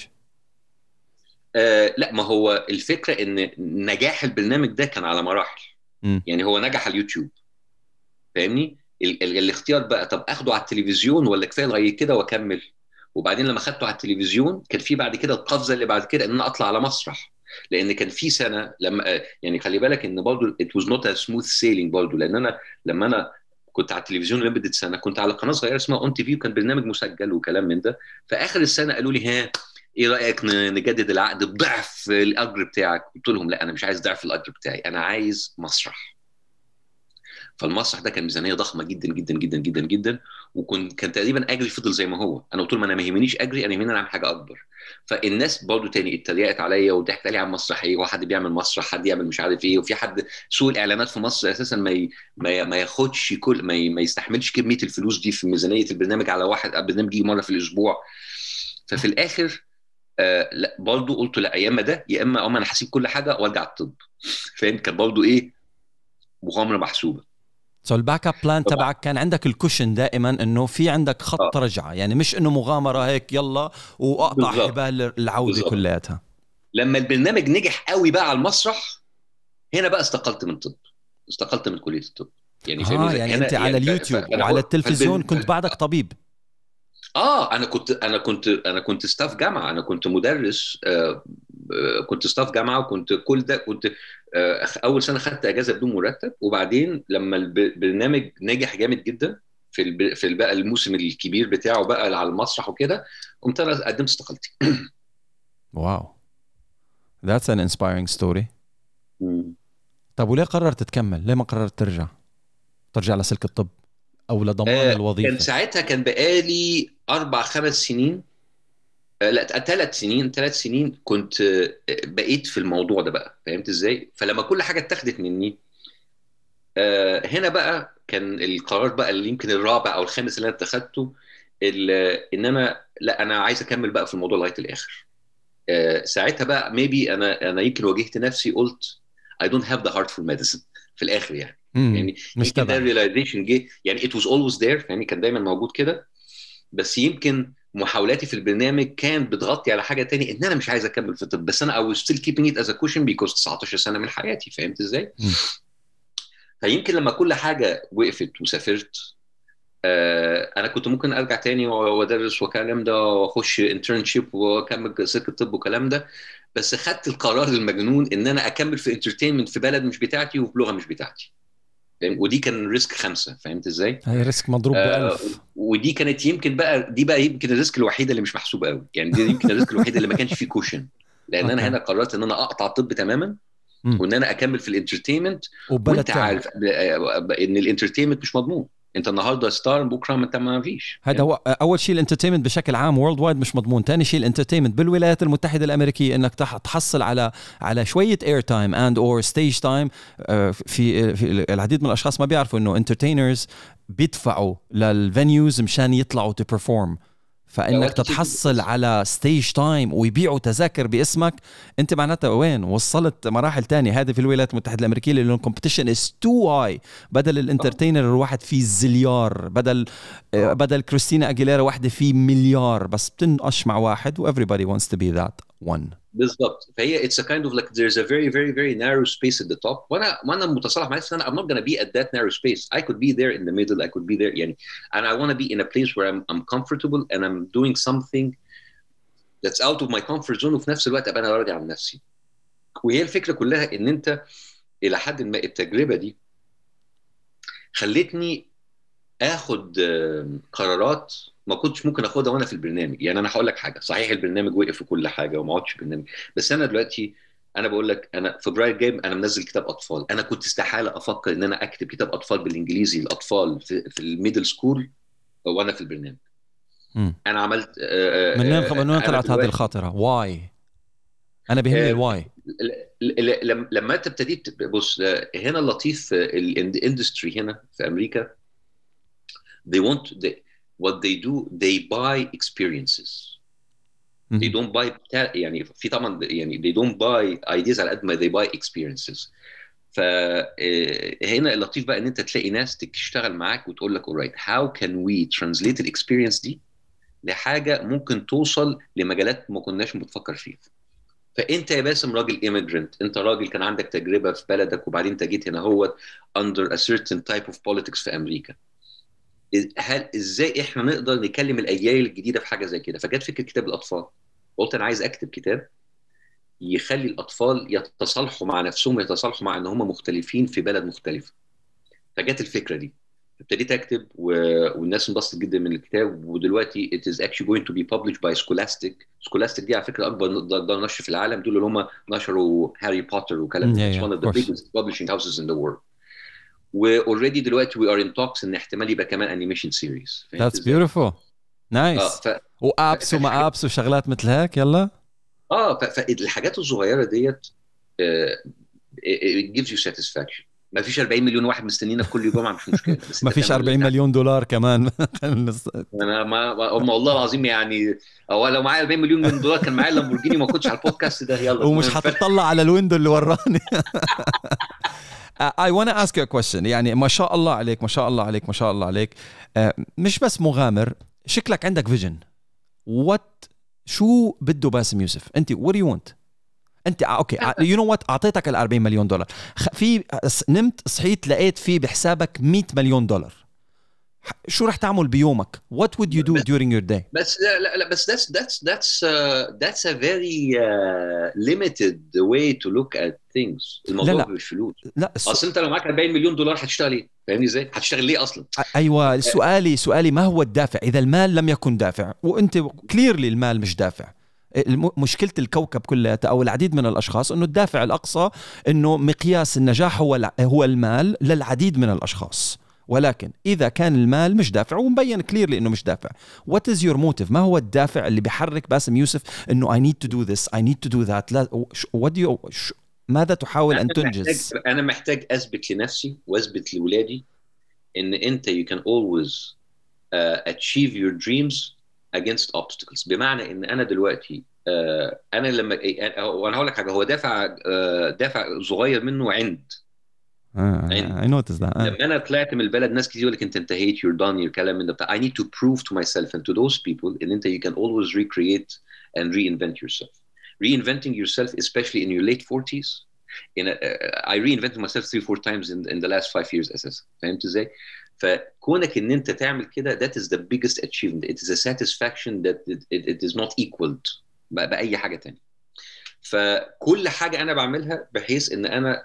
لا، ما هو الفكره ان نجاح البرنامج ده كان على مراحل. يعني هو نجح على اليوتيوب، فاهمني؟ الاختيار بقى، طب اخده على التلفزيون ولا كفايه لغايه كده واكمل؟ وبعدين لما خدته على التلفزيون كان في بعد كده القفزه اللي بعد كده ان انا اطلع على مسرح. لان كان في سنه لما يعني خلي بالك ان برضه it was not a smooth sailing برضه، لان انا لما انا كنت على التلفزيون لمده سنه، كنت على قناه صغيره اسمها اون تي في، وكان برنامج مسجل وكلام من ده. في اخر السنه قالوا لي ها ايه رايك نجدد العقد بضعف الاجر بتاعك؟ قلت لهم لا، انا مش عايز ضعف الاجر بتاعي، انا عايز مسرح. فالمسرح ده كان ميزانيه ضخمه جدا جدا جدا جدا جدا، كان تقريبا اجري فضل زي ما هو. انا قلت لهم انا ما يهمنيش اجري، انا يهمني اعمل حاجه اكبر. فالناس برضو تاني اتريقت عليا وضحكت علي عن مسرحيه، وحد بيعمل مسرح، حد يعمل مش عارف ايه، وفي حد سوق الاعلانات في مصر اساسا ما ياخدش كل ما يستحملش كميه الفلوس دي في ميزانيه البرنامج على واحد برنامج يجي مره في الاسبوع. ففي الاخر لا، برضو قلت لا، يا اما ده يا اما انا هسيب كل حاجه وارجع الطب. فاهم؟ كان برضو ايه، مغامره محسوبه. سو الباك اب بلان تبعك كان عندك الكوشن دائما انه في عندك خط رجعه، يعني مش انه مغامره هيك يلا واقطع حبال العوده كلياتها. لما البرنامج نجح قوي بقى على المسرح، هنا بقى استقلت من الطب، استقلت من كليه الطب. يعني يعني انت على اليوتيوب وعلى التلفزيون كنت بعدك طبيب. انا كنت ستاف جامعه، انا كنت مدرس، كنت ستاف جامعه، وكنت كل ده كنت اول سنه خدت اجازه بدون مرتب، وبعدين لما البرنامج نجح جامد جدا في بقى الموسم الكبير بتاعه بقى على المسرح وكده، قمت انا قدمت استقالتي. واو that's an inspiring story. طب وليه قررت تكمل؟ ليه ما قررت ترجع لسلك الطب او لضمان كان الوظيفه؟ ساعتها كان بقالي 4 5 سنين، لا 3 سنين، 3 سنين كنت بقيت في الموضوع ده بقى، فهمت ازاي؟ فلما كل حاجه اتاخدت مني، هنا بقى كان القرار بقى اللي يمكن الرابع او الخامس اللي انا اتخذته، ان انا لا، انا عايز اكمل بقى في الموضوع لغايه الاخر. ساعتها بقى ميبي انا يمكن واجهت نفسي، قلت I don't have the heart for medicine في الاخر يعني مش يمكن ده تبعي. الريلايزيشن جه، يعني it was always there، يعني كان دايما موجود كده، بس يمكن محاولاتي في البرنامج كانت بتغطي على حاجه تاني، ان انا مش عايز اكمل في الطب، بس انا I was still keeping it as a cushion because 19 سنه من حياتي، فهمت ازاي؟ فيمكن لما كل حاجه وقفت وسافرت، انا كنت ممكن ارجع تاني وادرس والكلام ده، واخش انترنشيب واكمل سلك الطب والكلام ده، بس خدت القرار المجنون ان انا اكمل في انترتينمنت في بلد مش بتاعتي وبلغه مش بتاعتي، ودي كان ريسك 5، فهمت ازاي؟ هاي ريسك مضروب ب1000. ودي كانت يمكن بقى، دي بقى يمكن الريسك الوحيده اللي مش محسوبه قوي، يعني دي يمكن الريسك الوحيده اللي ما كانش فيه كوشن، لان انا اوكي. هنا قررت ان انا اقطع الطب تماما، وان انا اكمل في الانترتينمنت. وبلد وانت تاني. عارف ان الانترتينمنت مش مضمون، انت النهارده ستار، بكره ما انت ما فيش هذا هو اول شيء. الانترتينمنت بشكل عام وورلد وايد مش مضمون. ثاني شيء الانترتينمنت بالولايات المتحده الامريكيه انك تحصل على شويه اير تايم اند اور ستيج تايم. في العديد من الاشخاص ما بيعرفوا انه انترتينرز بيدفعوا للفينيوز مشان يطلعوا تو بيرفورم، فانك تتحصل على ستيج تايم ويبيعوا تذاكر باسمك، انت معناتها وين وصلت مراحل تانية. هذه في الولايات المتحده الامريكيه لانه الكومبيتيشن از تو هاي. بدل الانترتينر الواحد فيه زليار، بدل كريستينا اجيليرا واحده فيه مليار، بس بتنقش مع واحد و everybody wants to be that one. بالظبط. فهي it's a kind of like there's a very very very narrow space at the top، وانا متصالح مع نفسي ان انا I'm not gonna be at that narrow space. I could be there in the middle, I could be there يعني، and I want to be in a place where I'm comfortable and I'm doing something that's out of my comfort zone، وفي نفس الوقت ابقى انا راضي عن نفسي. وهي الفكره كلها ان انت الى حد ما التجربه دي خلتني اخد قرارات ما كنتش ممكن اخدها وانا في البرنامج. يعني انا هقول لك حاجه، صحيح البرنامج وقف وكل حاجه وما عادش برنامج، بس انا دلوقتي انا بقول لك انا فبراير جاي انا منزل كتاب اطفال. انا كنت استحاله افكر ان انا اكتب كتاب اطفال بالانجليزي الاطفال في الميدل سكول وانا في البرنامج. انا عملت من وين انا طلعت هذه دلوقتي الخاطره؟ واي؟ انا بيهمني الواي. لما انت ابتديت بص، هنا اللطيف الاندستري هنا في امريكا they want what they do they buy experiences. they don't buy يعني في طبعا يعني they don't buy ideas على قد ما they buy experiences. فهنا اللطيف بقى ان انت تلاقي ناس تشتغل معاك وتقول لك alright how can we translate الاكسبيرينس دي لحاجه ممكن توصل لمجالات ما كناش بنفكر فيها. فانت يا باسم راجل immigrant، انت راجل كان عندك تجربه في بلدك وبعدين انت جيت هنا هو under a certain type of politics في امريكا. هل ازاي احنا نقدر نكلم الاجيال الجديده في حاجه زي كده؟ فجت فكره كتاب الاطفال. قلت انا عايز اكتب كتاب يخلي الاطفال يتصالحوا مع نفسهم، يتصالحوا مع ان هم مختلفين في بلد مختلفه. فجت الفكره دي، ابتديت اكتب والناس انبسطت جدا من الكتاب. ودلوقتي it is actually going to be published by Scholastic. Scholastic دي على فكره اكبر دار نشر في العالم، دول اللي هم نشروا هاري بوتر وكلام ده. It's one of the biggest publishing houses in the world. واوريدي دلوقتي we are in talks ان احتمال يبقى كمان انيميشن سيريز. That's beautiful. نايس. وابس وما ابس وشغلات مثل هيك. يلا فالحاجات الصغيره ديت it gives you satisfaction. ما فيش 40 مليون واحد مستنينا كل جمعه، مش مشكله، بس ما فيش 40 مليون دولار كمان. انا ما والله العظيم يعني، او لو معايا 40 مليون من دولار كان معايا لامبورجيني ما كنتش على البودكاست ده. يلا ومش هتطلع على الويندو اللي وراني. I want to ask you a question. يعني ما شاء الله عليك، ما شاء الله عليك، ما شاء الله عليك. مش بس مغامر، شكلك عندك فيجن. شو بده باسم يوسف؟ انت what do you want؟ انت اوكي you know what، اعطيتك ال 40 مليون دولار، في نمت صحيت لقيت في بحسابك 100 مليون دولار. شو رح تعمل بيومك؟ What would you do during your day؟ بس لا بس that's a very limited way to look at things. الموضوع مش فلوس. لا اصل انت لو معاك 40 مليون دولار هتشتغل ايه؟ فاهمني ازاي؟ هتشتغل ليه اصلا؟ ايوه سؤالي ما هو الدافع اذا المال لم يكن دافع؟ وانت كليرلي المال مش دافع. مشكلة الكوكب كلها أو العديد من الأشخاص أنه الدافع الأقصى أنه مقياس النجاح هو المال للعديد من الأشخاص. ولكن إذا كان المال مش دافع ومبين كليرلي إنه مش دافع, what is your motive؟ ما هو الدافع اللي بيحرك باسم يوسف إنه I need to do this, I need to do that؟ لا, what do you, ماذا تحاول أن تنجز؟ أنا محتاج أثبت لنفسي وأثبت لولادي إن أنت you can always achieve your dreams against obstacles. بمعنى إن أنا دلوقتي أنا لما وأنا هقول لك حاجة, هو دافع صغير منه عند I noticed that. لما أنا طلعت من البلد ناس كتير يقول لك أنت انتهيت, you're done, you're كلام من ده. I need to prove to myself and to those people إن أنت you can always recreate and reinvent yourself. Reinventing yourself, especially in your late 40s. I reinvented myself 3-4 times in the last 5 years أساسا. فهمت إزاي؟ فكونك إن أنت تعمل كده, that is the biggest achievement. It is a satisfaction that it is not equaled بأي حاجة تانية. فكل حاجة أنا بعملها بحيث إن أنا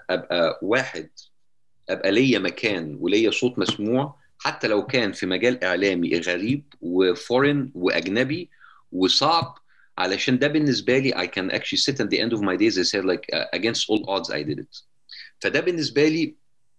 أبقى ليا مكان وليا صوت مسموع, حتى لو كان في مجال إعلامي غريب وفورين وأجنبي وصعب, علشان ده بالنسبة لي I can actually sit at the end of my days I said like against all odds I did it. فده بالنسبة لي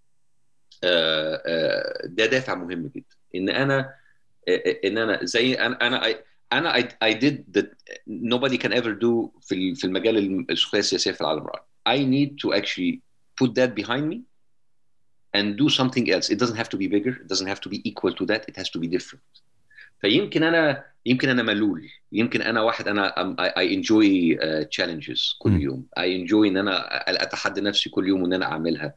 ده دافع مهم جدا, إن أنا زي أنا I did that nobody can ever do في المجال السخرية السياسية في العالم العربي. I need to actually put that behind me and do something else. It doesn't have to be bigger, it doesn't have to be equal to that, it has to be different. فيمكن أنا ملول, يمكن أنا واحد I enjoy challenges كل يوم, I enjoy إن أنا أتحدى نفسي كل يوم وإن أنا أعملها.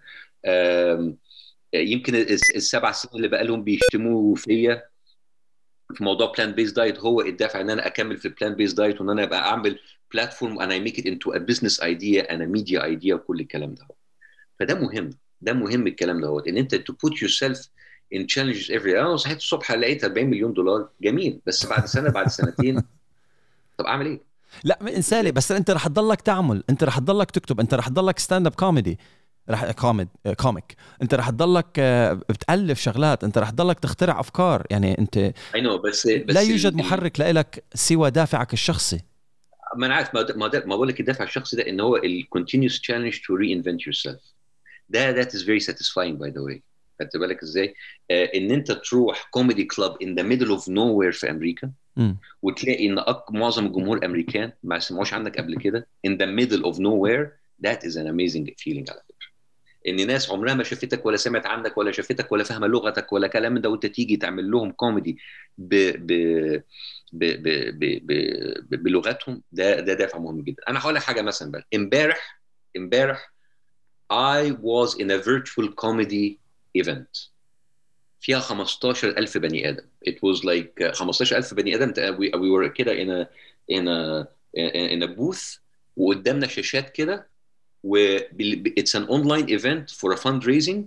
يمكن ال7 سنين اللي بقى لهم بيشتموا فيا في موضوع plant based diet هو الدافع إن أنا أكمل في plant based diet, وإن أنا أبقى أعمل platform and I make it into a business idea and a media idea وكل الكلام ده. فده مهم الكلام ده, ان انت to put yourself in challenges every day. انا صحيت الصبح لقيت 40 مليون دولار, جميل, بس بعد سنه بعد سنتين طب اعمل ايه؟ لا انسالي, بس انت رح تضلك تعمل, انت رح تضلك تكتب, انت رح تضلك ستاند اب كوميدي, رح كوميك, انت رح تضلك بتألف شغلات, انت رح تضلك تخترع افكار, يعني انت بس لا يوجد محرك لك سوى دافعك الشخصي. ما انا عارف, ما بقول لك الدافع الشخصي ده ان هو ال continuous challenge to reinvent yourself. that is very satisfying by the way. خدت بالك ازاي؟ ان انت تروح كوميدي كلاب in the middle of nowhere في امريكا وتلاقي ان معظم الجمهور الامريكان ما سمعوش عنك قبل كده in the middle of nowhere. that is an amazing feeling على فكره. ان ناس عمرها ما شافتك ولا سمعت عنك ولا شافتك ولا فاهمه لغتك ولا كلام ده, وانت تيجي تعمل لهم كوميدي بلغتهم, ده دافع مهم جدا. انا هقول لك حاجه مثلا بقى, امبارح I was in a virtual comedy event فيها 15,000 بني آدم. It was like 15,000 بني آدم. We were كده in a booth وقدامنا شاشات كده, it's an online event for a fundraising.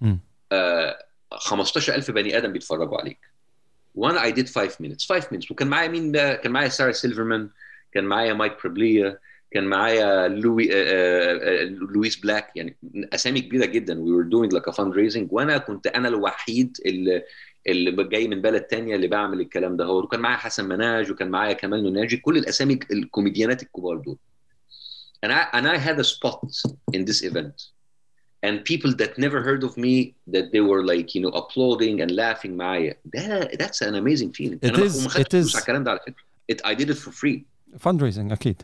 15,000 بني آدم بيتفرجوا عليك. وأنا I did 5 minutes. وكان معايا مين بقى؟ كان معايا سارة سيلفرمان, كان معايا مايك بربليا, كان معايا لويس بلاك, يعني اسامي كبيره جدا. we were doing like a fundraising, وانا كنت انا الوحيد اللي جاي من بلد تانية اللي بعمل الكلام ده. وكان معايا حسن مناج, وكان معايا كمال نوناجي, كل الاسامي الكوميديانات الكبار دول. and I had a spot in this event and people that never heard of me, that they were like applauding and laughing معايا. that's an amazing feeling. it is على الكلام ده على فكره. I did it for free. fundraising أكيد.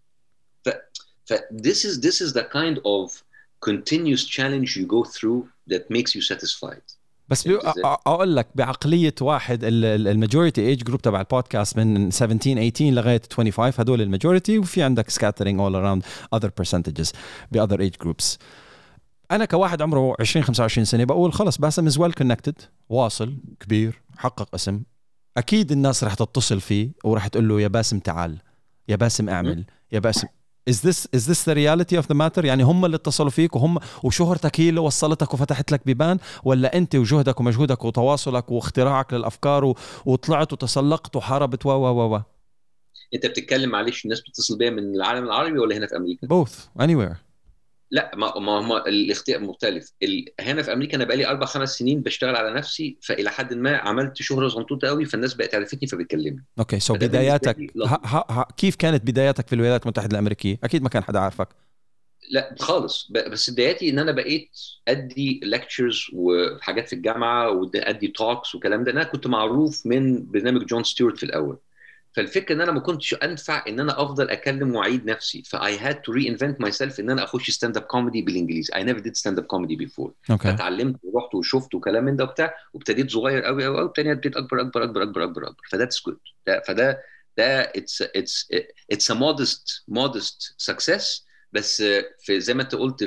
this is the kind of continuous challenge you go through that makes you satisfied. بس اقول لك بعقليه واحد, الماجوريتي ايج جروب تبع البودكاست من 17 18 لغايه 25, هدول الماجوريتي, وفي عندك scattering all around other percentages ب other age groups. انا كواحد عمره 20 25 سنه بقول خلص باسم is well connected, واصل كبير, حقق اسم, اكيد الناس رح تتصل فيه ورح تقول له يا باسم تعال, يا باسم اعمل, يا باسم. is this the reality of the matter؟ يعني هم اللي اتصلوا فيك وشهرتك هي اللي وصلتك وفتحت لك بيبان، ولا انت وجهدك ومجهودك وتواصلك واختراعك للافكار وطلعت وتسلقت وحاربت و انت بتتكلم معلش الناس بتتصل بيا من العالم العربي ولا هنا في امريكا؟ both anywhere. لا ما الاختيار مختلف. هنا في امريكا انا بقالي 4-5 سنين بشتغل على نفسي، فالى حد ما عملت شهره صغنطوطه قوي، فالناس بقت عرفتني فبتكلمني. اوكي سو فده بالنسبة بداياتك لي لطيف. كيف كانت بداياتك في الولايات المتحدة الأمريكية؟ أكيد ما كان حدا عارفك. لا خالص، بس بداياتي ان انا بقيت ادي ليكتشرز وحاجات في الجامعه وادي توكس وكلام ده. انا كنت معروف من برنامج جون ستيوارت في الاول، فالفكره ان انا ما كنتش انفع ان انا افضل اكلم واعيد نفسي، فاي هاد تو ري انفنت ماي سيلف ان انا اخش ستاند اب كوميدي بالانجليزي. اي نيفر ديد ستاند اب كوميدي بيفور. اوكي فتعلمت ورحت وشفت وكلام من ده وبتاع، وابتديت صغير قوي قوي قوي، وبتاني ابتديت اكبر اكبر اكبر اكبر اكبر اكبر. فذاتس جود. فده اتس ا مودست سكسس. بس في زي ما انت قلت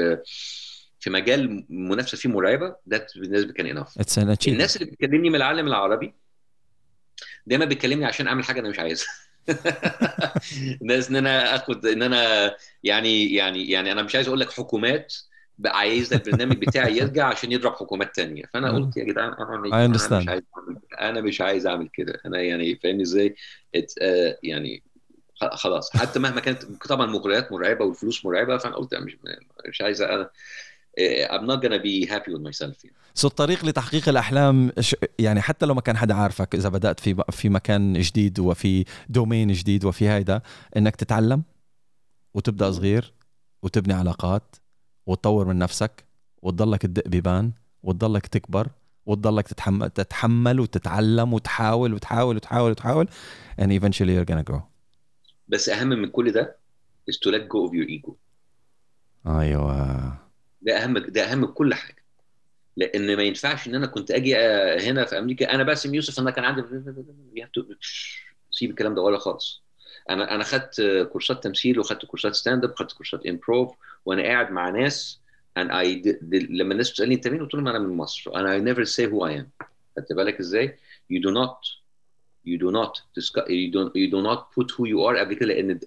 في مجال منافسه فيه مرعبه، ده بالنسبه كان اناف. it's an الناس achievement. اللي بتكلمني من العالم العربي دايما بتكلمني عشان اعمل حاجه انا مش عايزها. ناس ان انا اخد ان انا يعني انا مش عايز اقول لك حكومات بقى عايزه البرنامج بتاعي يرجع عشان يضرب حكومات تانية. فانا قلت يا جدعان I انا مش understand. عايز انا مش عايز اعمل كده. انا يعني فاهمني ازاي؟ يعني خلاص، حتى مهما كانت طبعا المغريات مرعبه والفلوس مرعبه، فانا قلت أنا مش عايز. انا I'm not gonna be happy with myself يعني. سو الطريق لتحقيق الأحلام يعني حتى لو ما كان حدا عارفك، إذا بدأت في مكان جديد وفي دومين جديد وفي هيدا، إنك تتعلم وتبدأ صغير وتبني علاقات وتطور من نفسك وتضلك تدق بيبان وتضلك تكبر وتضلك تتحمل وتتعلم وتحاول وتحاول وتحاول وتحاول and eventually you're gonna grow. بس اهم من كل ده is to let go of your ego. أيوة ده اهم من كل حاجه. لان ما ينفعش ان انا كنت اجي هنا في امريكا انا باسم يوسف، انا كان عندي سيب الكلام ده ولا خالص. انا خدت كورسات تمثيل وخدت كورسات ستاند اب وخدت كورسات امبروف، وانا قاعد مع ناس لما الناس بتسالني انت مين، قلت لهم انا من مصر. انا I never say who I am. خدت بالك ازاي؟ you do not you do not discuss, you do not put who you are قبل كده.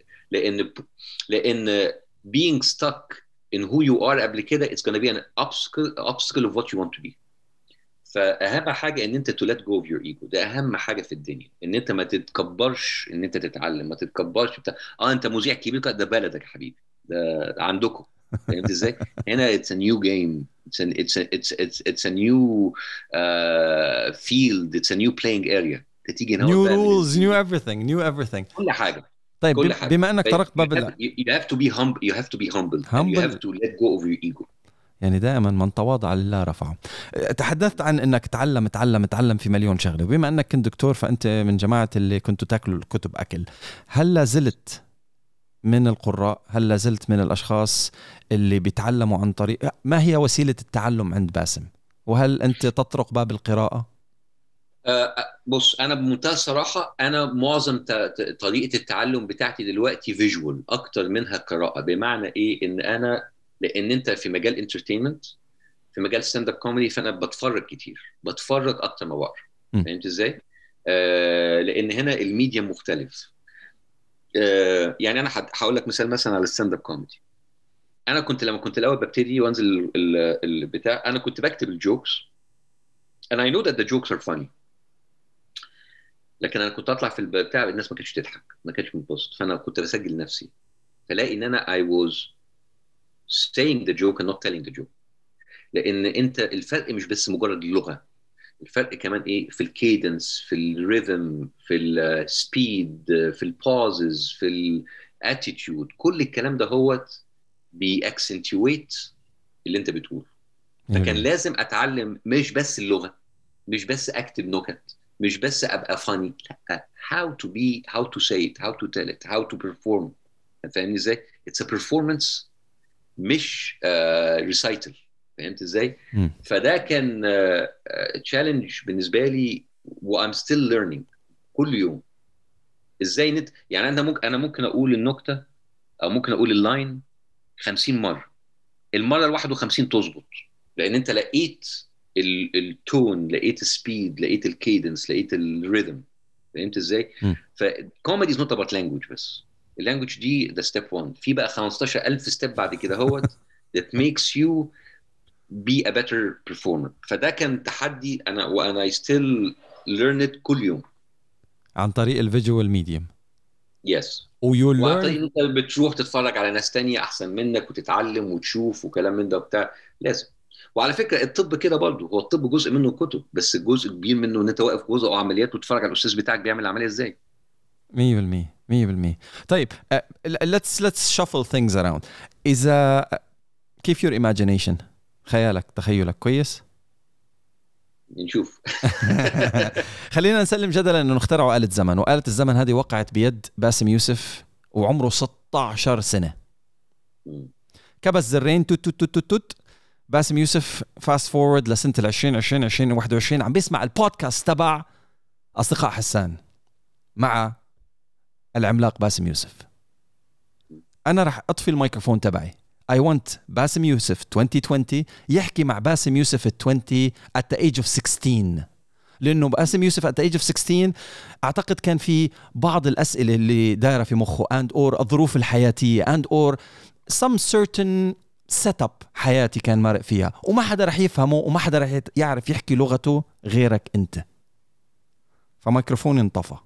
لان being stuck in who you are قبل كده it's going to be an obstacle of what you want to be. فاهم حاجه ان انت to let go of your ego. ده اهم حاجه في الدنيا، ان انت ما تتكبرش، ان انت تتعلم، ما تتكبرش انت مذيع كبير، ده بلدك يا حبيبي، ده عندكم. فهمت ازاي؟ هنا it's a new game. It's a new field. It's a new playing area. تيجي هنا new بقى من rules new everything new everything. كل حاجه. طيب كل حاجه. بما انك طرقت you باب have, you have to be humble. You have to be humble and you have humble to let go of your ego. يعني دائما من تواضع لله رفعه. تحدثت عن انك تعلم في مليون شغله، وبما انك كنت دكتور فانت من جماعه اللي كنتوا تاكلوا الكتب اكل. هل لا زلت من القراء؟ هل لا زلت من الاشخاص اللي بيتعلموا عن طريق؟ ما هي وسيله التعلم عند باسم؟ وهل انت تطرق باب القراءه؟ بص انا بمنتهى الصراحه انا معظم طريقه التعلم بتاعتي دلوقتي فيجوال اكتر منها قراءه. بمعنى ايه؟ لان انت في مجال انترتينمنت، في مجال ستاند اب كوميدي، فانا بتفرج كتير، بتفرج اكتر ما بقرا. فهمت ازاي؟ لان هنا الميديا مختلف. يعني انا هقول لك مثال على الستاند اب كوميدي. انا لما كنت الاول ببتدي وانزل البتاع، انا كنت بكتب الجوكس and I know that the jokes are funny. لكن انا كنت اطلع في البتاع الناس ما كانتش تضحك، ما كانتش متبسط، فانا كنت بسجل نفسي، فلاقي ان انا I was saying the joke and not telling the joke. لان انت الفرق مش بس مجرد اللغه، الفرق كمان ايه؟ في الكيدنس، في الريذم، في السبيد، في البوزز، في الاتيتيود. كل الكلام ده هو بيأكسنتويت اللي انت بتقوله. فكان لازم اتعلم مش بس اللغه، مش بس اكتب نكت، مش بس ابقى فاني، لا how to be, how to say it, how to tell it, how to perform. فاهمني ازاي؟ it's a performance مش recital. فهمت ازاي؟ فده كان تشالنج بالنسبه لي و I'm still learning كل يوم. ازاي يعني انا ممكن اقول النكته او ممكن اقول اللاين 50 مره، المره ال 51 تظبط، لان انت لقيت التون، لقيت السبيد، لقيت الكيدنس، لقيت الريذم. فهمت ازاي؟ فكوميدي از نوت اباوت لانجوج بس. اللانجوج دي ده ستيب 1. في بقى 15,000 ستيب بعد كده هوت that makes you be a better performer. فده كان تحدي انا، وانا I still learn it كل يوم. عن طريق الفيجوال ميديوم. يس. ويو وعن ليرن. طريق انت بتروح تتفرج على ناس تانية احسن منك وتتعلم وتشوف وكلام من ده وبتاع، لازم. وعلى فكره الطب كده برضه، هو الطب جزء منه كتب، بس جزء كبير منه ان انت واقف جزء او عمليات وتتفرج على الاستاذ بتاعك بيعمل العمليه ازاي. 100%. طيب let's shuffle things around. إذا كيف your imagination؟ خيالك، تخيلك كويس؟ نشوف. خلينا نسلم جدلا انه اخترعوا آلة زمن، وآلة الزمن هذه وقعت بيد باسم يوسف وعمره 16 سنة. كبس زرين توت توت توت توت. باسم يوسف فاست فورورد لسنة 2020 2021 عم بيسمع البودكاست تبع أصدقاء حسان مع العملاق باسم يوسف. أنا رح أطفي الميكروفون تبعي. I want باسم يوسف 2020 يحكي مع باسم يوسف 20 at the age of 16. لأنه باسم يوسف at the age of 16 أعتقد كان في بعض الأسئلة اللي دايرة في مخه and or الظروف الحياتية and or some certain setup حياتي كان مارق فيها، وما حدا رح يفهمه وما حدا رح يعرف يحكي لغته غيرك أنت. فميكروفوني انطفى.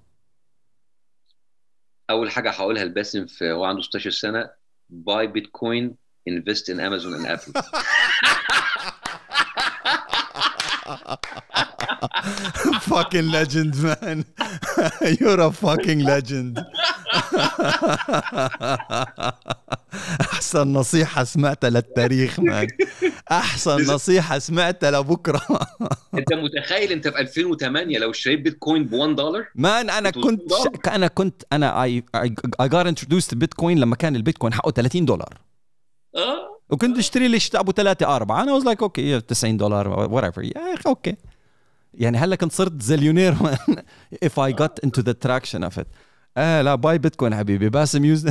اول حاجه هقولها لباسم في هو عنده 16 سنه: buy bitcoin, invest in Amazon and Apple. Fucking legend, man. You're a fucking legend. أحسن نصيحة سمعتها للتاريخ، مان. أحسن نصيحة سمعتها لبكرة. أنت متخيل أنت في 2008 لو اشتريت بيتكوين $1؟ مان أنا كنت I got introduced to Bitcoin لما كان البيتكوين حقه $30. وكنت اشتري لي ابو 3-4. انا was like okay $90 whatever يا اخي اوكي. يعني هلا كنت صرت زليونير if I got into the traction of it. لا باي بيتكوين حبيبي. باسم يوز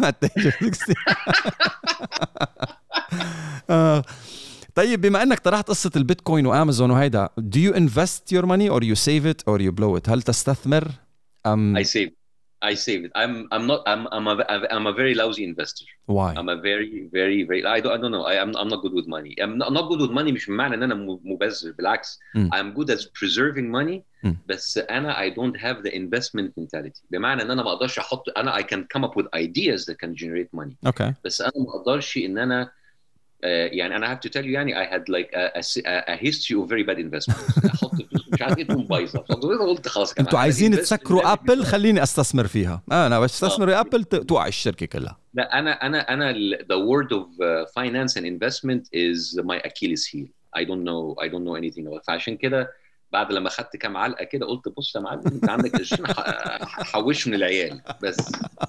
طيب بما انك طرحت قصة البيتكوين وامازون وهيدا, do you invest your money or you save it or you blow it؟ هل تستثمر I save it. I'm a very lousy investor. Why? I'm a very I don't know. I'm not good with money. I'm not good with money مش معنى ان انا مبذر, بالعكس. I'm good at preserving money. بس انا I don't have the investment mentality. بمعنى ان انا ما اقدرش احط, انا I can come up with ideas that can generate money. Okay. بس انا ما اقدرش ان انا يعني انا have to tell you يعني I had like a history of very bad investments. احط فلوس مش عارف ايه تقوم بايظه, فقلت خلاص كمان انتوا عايزين تسكروا ابل, خليني استثمر فيها. انا بس استثمر ابل توقع الشركه كلها. لا انا the word of finance and investment is my Achilles heel. I don't know anything about. فعشان كده بعد لما خدت كام علقه كده قلت بص يا معلم انت عندك قرشين حوش من العيال بس.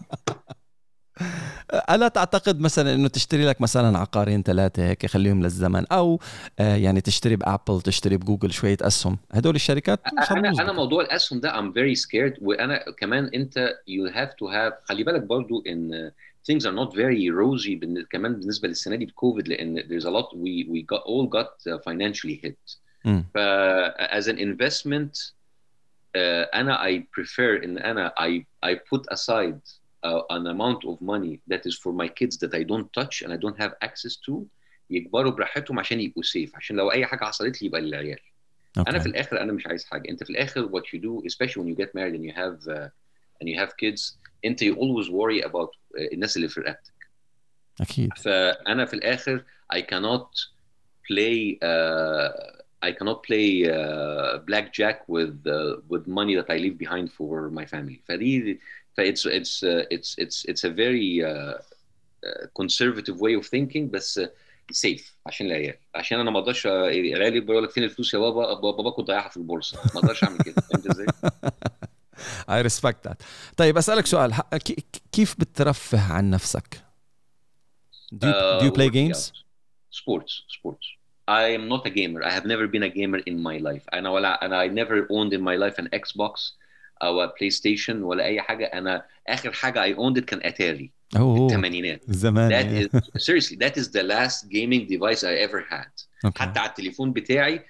ألا تعتقد مثلا إنه تشتري لك مثلا عقارين 3 هيك خليهم للزمن, أو يعني تشتري بأبل, تشتري بجوجل شوية أسهم, هدول الشركات أنا موضوع الأسهم ده I'm very scared. وأنا كمان أنت you have to have, خلي بالك برضو إن things are not very rosy كمان بالنسبة للسنة دي بكوفيد, لأن there's a lot we got financially hit. as an investment أنا I prefer إن أنا I put aside an amount of money that is for my kids that I don't touch and I don't have access to, يكبروا براحتهم عشان يبقوا safe, عشان لو أي حاجة حصلت لي يبقى للعيال. Okay. أنا في الآخر أنا مش عايز حاجة. أنت في الآخر what you do, especially when you get married and you have kids, أنت you always worry about الناس اللي في رقبتك. أكيد. فأنا في الآخر I cannot play blackjack with money that I leave behind for my family. فدي it's a very conservative way of thinking, بس safe عشان العيال. عشان انا ما اقدرش العيال يقول لك فين الفلوس يا بابا, بابا كنت ضايعها في البورصه, ما اقدرش اعمل كده. فهمت ازاي؟ I respect that. طيب اسالك سؤال, كيف بترفه عن نفسك؟ do you play games? Sports. I am not a gamer. I have never been a gamer in my life. I never owned in my life an Xbox او بلاي ستيشن ولا اي حاجه. انا اخر حاجه I owned it كان اتاري في الثمانينات زمان. Seriously, that is the last gaming device I ever had. Okay. حتى على التليفون بتاعي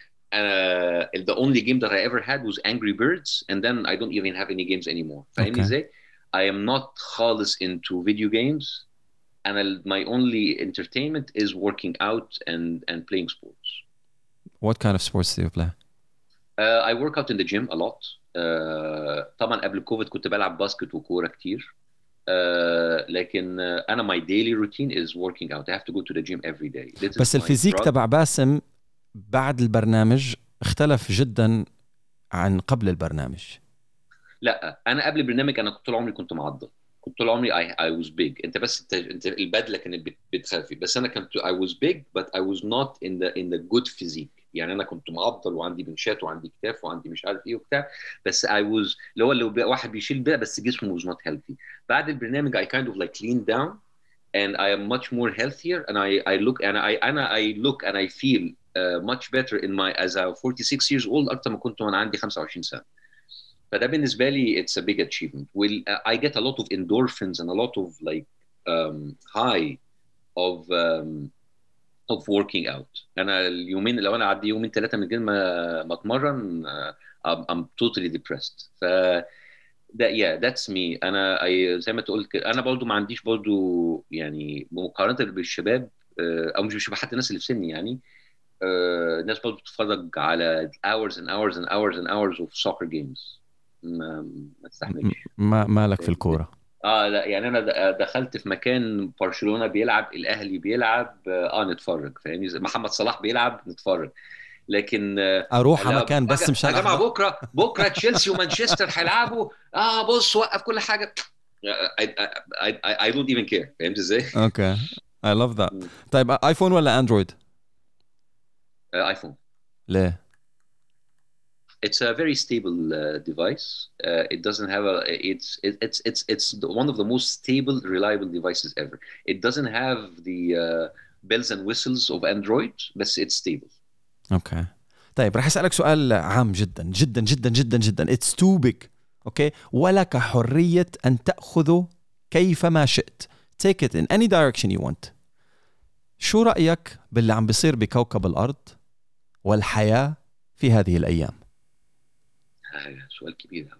the only game that I ever had was Angry Birds, and then I don't even have any games anymore. فاهمني ازاي؟ I am not خالص into video games. And my only entertainment is working out and playing sports. What kind of sports do you play? I work out in the gym a lot. طبعا قبل الكوفيد كنت بلعب باسكت وكورة كتير. لكن أنا my daily routine is working out. I have to go to the gym every day. بس الفيزيك تبع باسم بعد البرنامج اختلف جدا عن قبل البرنامج. لا أنا قبل البرنامج أنا طول عمري كنت معضل. كنت طول عمري I was big. انت بس انت البدله كانت بتخافي بس انا كنت I was big but I was not in the good physique. يعني انا كنت معضل وعندي بنشات وعندي كتاف وعندي مش عارف ايه وبتاع بس I was اللي واحد بيشيل بقى بس جسمه was not healthy. بعد البرنامج I kind of like leaned down and I am much more healthier and I look and I feel much better in my as a 46 years old اكتر ما كنت وانا عندي 25 سنه. فده بالنسبة لي it's a big achievement. I get a lot of endorphins and a lot of like high of working out. أنا اليومين لو أنا عدي يومين 3 من غير ما أتمرن I'm totally depressed. that's me. أنا زي ما تقول كده أنا برضو ما عنديش برضو يعني مقارنة بالشباب أو مش بالشباب حتى الناس اللي في سني يعني الناس برضو بتتفرج على hours and hours and hours and hours of soccer games. ما استحملش. مالك في الكوره؟ لا يعني انا دخلت في مكان برشلونه بيلعب الاهلي بيلعب نتفرج فاهمني محمد صلاح بيلعب نتفرج لكن اروح على مكان بس مشان يا جماعه بكره تشيلسي ومانشستر هيلعبوا بص وقف كل حاجه I don't even care فهمت ازاي؟ اوكي I love that. طيب ايفون ولا اندرويد؟ ايفون. ليه؟ It's a very stable device. It doesn't have it's one of the most stable, reliable devices ever. It doesn't have the bells and whistles of Android, but it's stable. Okay. طيب رح أسألك سؤال عام جدا جدا جدا جدا جدا. It's too big. Okay. ولك حرية أن تأخذه كيفما شئت. Take it in any direction you want. شو رأيك باللي عم بيصير بكوكب الأرض والحياة في هذه الأيام؟ سؤال كبير.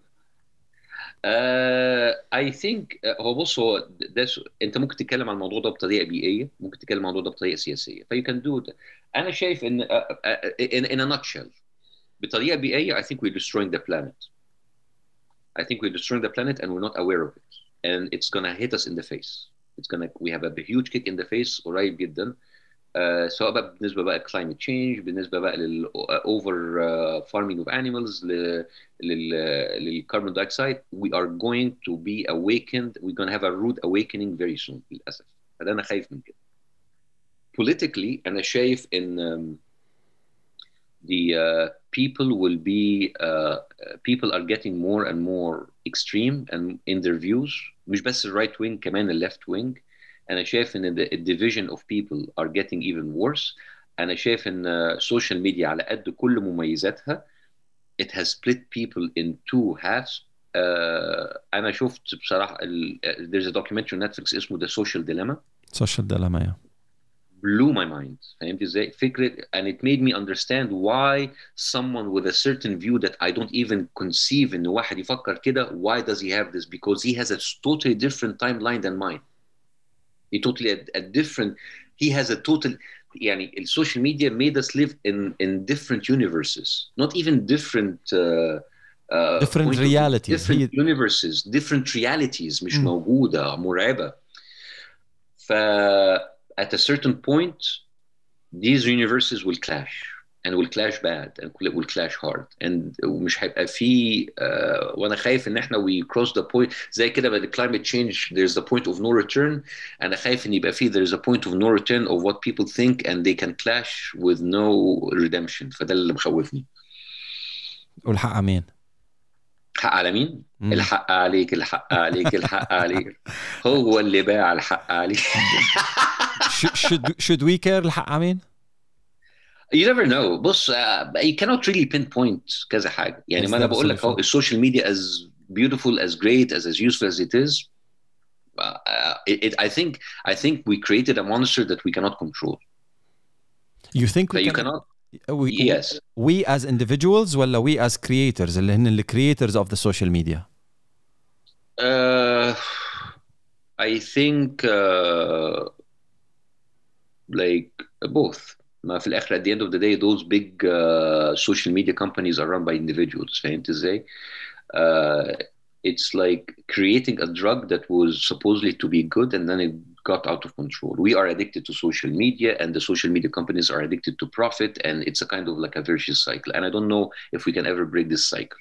I think هو بص هو ده انت ممكن تتكلم عن الموضوع ده بطريقه بيئيه ممكن تتكلم عن الموضوع ده بطريقه سياسيه ف you can do that. انا شايف ان in a nutshell بطريقه بيئيه I think we're destroying the planet. I think we're destroying the planet and we're not aware of it and it's gonna hit us in the face. We have a huge kick in the face قريب جدا. سواء بقى بالنسبه بقى climate change بالنسبه بقى over farming of animals للcarbon dioxide we are going to be awakened we're going to have a rude awakening very soon للاسف. فده انا خايف من كده. Politically أنا شايف إن the people will be people are getting more and more extreme and in their views مش بس right wing كمان left wing. أنا شايف إن the division of people are getting even worse. أنا شايف إن social media على قد كل مميزاتها it has split people in two halves. أنا شفت بصراحة there's a documentary on Netflix اسمه The Social Dilemma. Social Dilemma yeah. blew my mind. فهمت ازاي؟ فكرة and it made me understand why someone with a certain view that I don't even conceive إن واحد يفكر كده why does he have this? Because he has a totally different timeline than mine. He totally a different. He has a total. يعني السوشيال media made us live in different universes, not even different. different realities. Different universes, different realities مش موجودة مرعبة. At a certain point, these universes will clash and will clash bad and will clash hard and مش هيبقى في وانا خايف ان احنا we cross the point زي كده بعد climate change there's the point of no return. انا خايف ان يبقى في there's a point of no return of what people think and they can clash with no redemption. فده اللي مخوفني. والحق على مين؟ حق على مين؟ الحق عليك الحق عليك الحق عليك. هو اللي باع الحق عليك. should we care الحق على مين؟ You never know. بص you cannot really pinpoint كذا حاجة. يعني ما أنا بقول لك أهو السوشيال media as beautiful as great as useful as it is. I think we created a monster that we cannot control. You think we cannot? Yes. We as individuals ولا we as creators اللي هن the creators of the social media? Uh, I think like both. ما في الآخر at the end of the day those big social media companies are run by individuals. فهمت ازاي؟ Uh, it's like creating a drug that was supposedly to be good and then it got out of control. We are addicted to social media and the social media companies are addicted to profit and it's a kind of like a vicious cycle. And I don't know if we can ever break this cycle.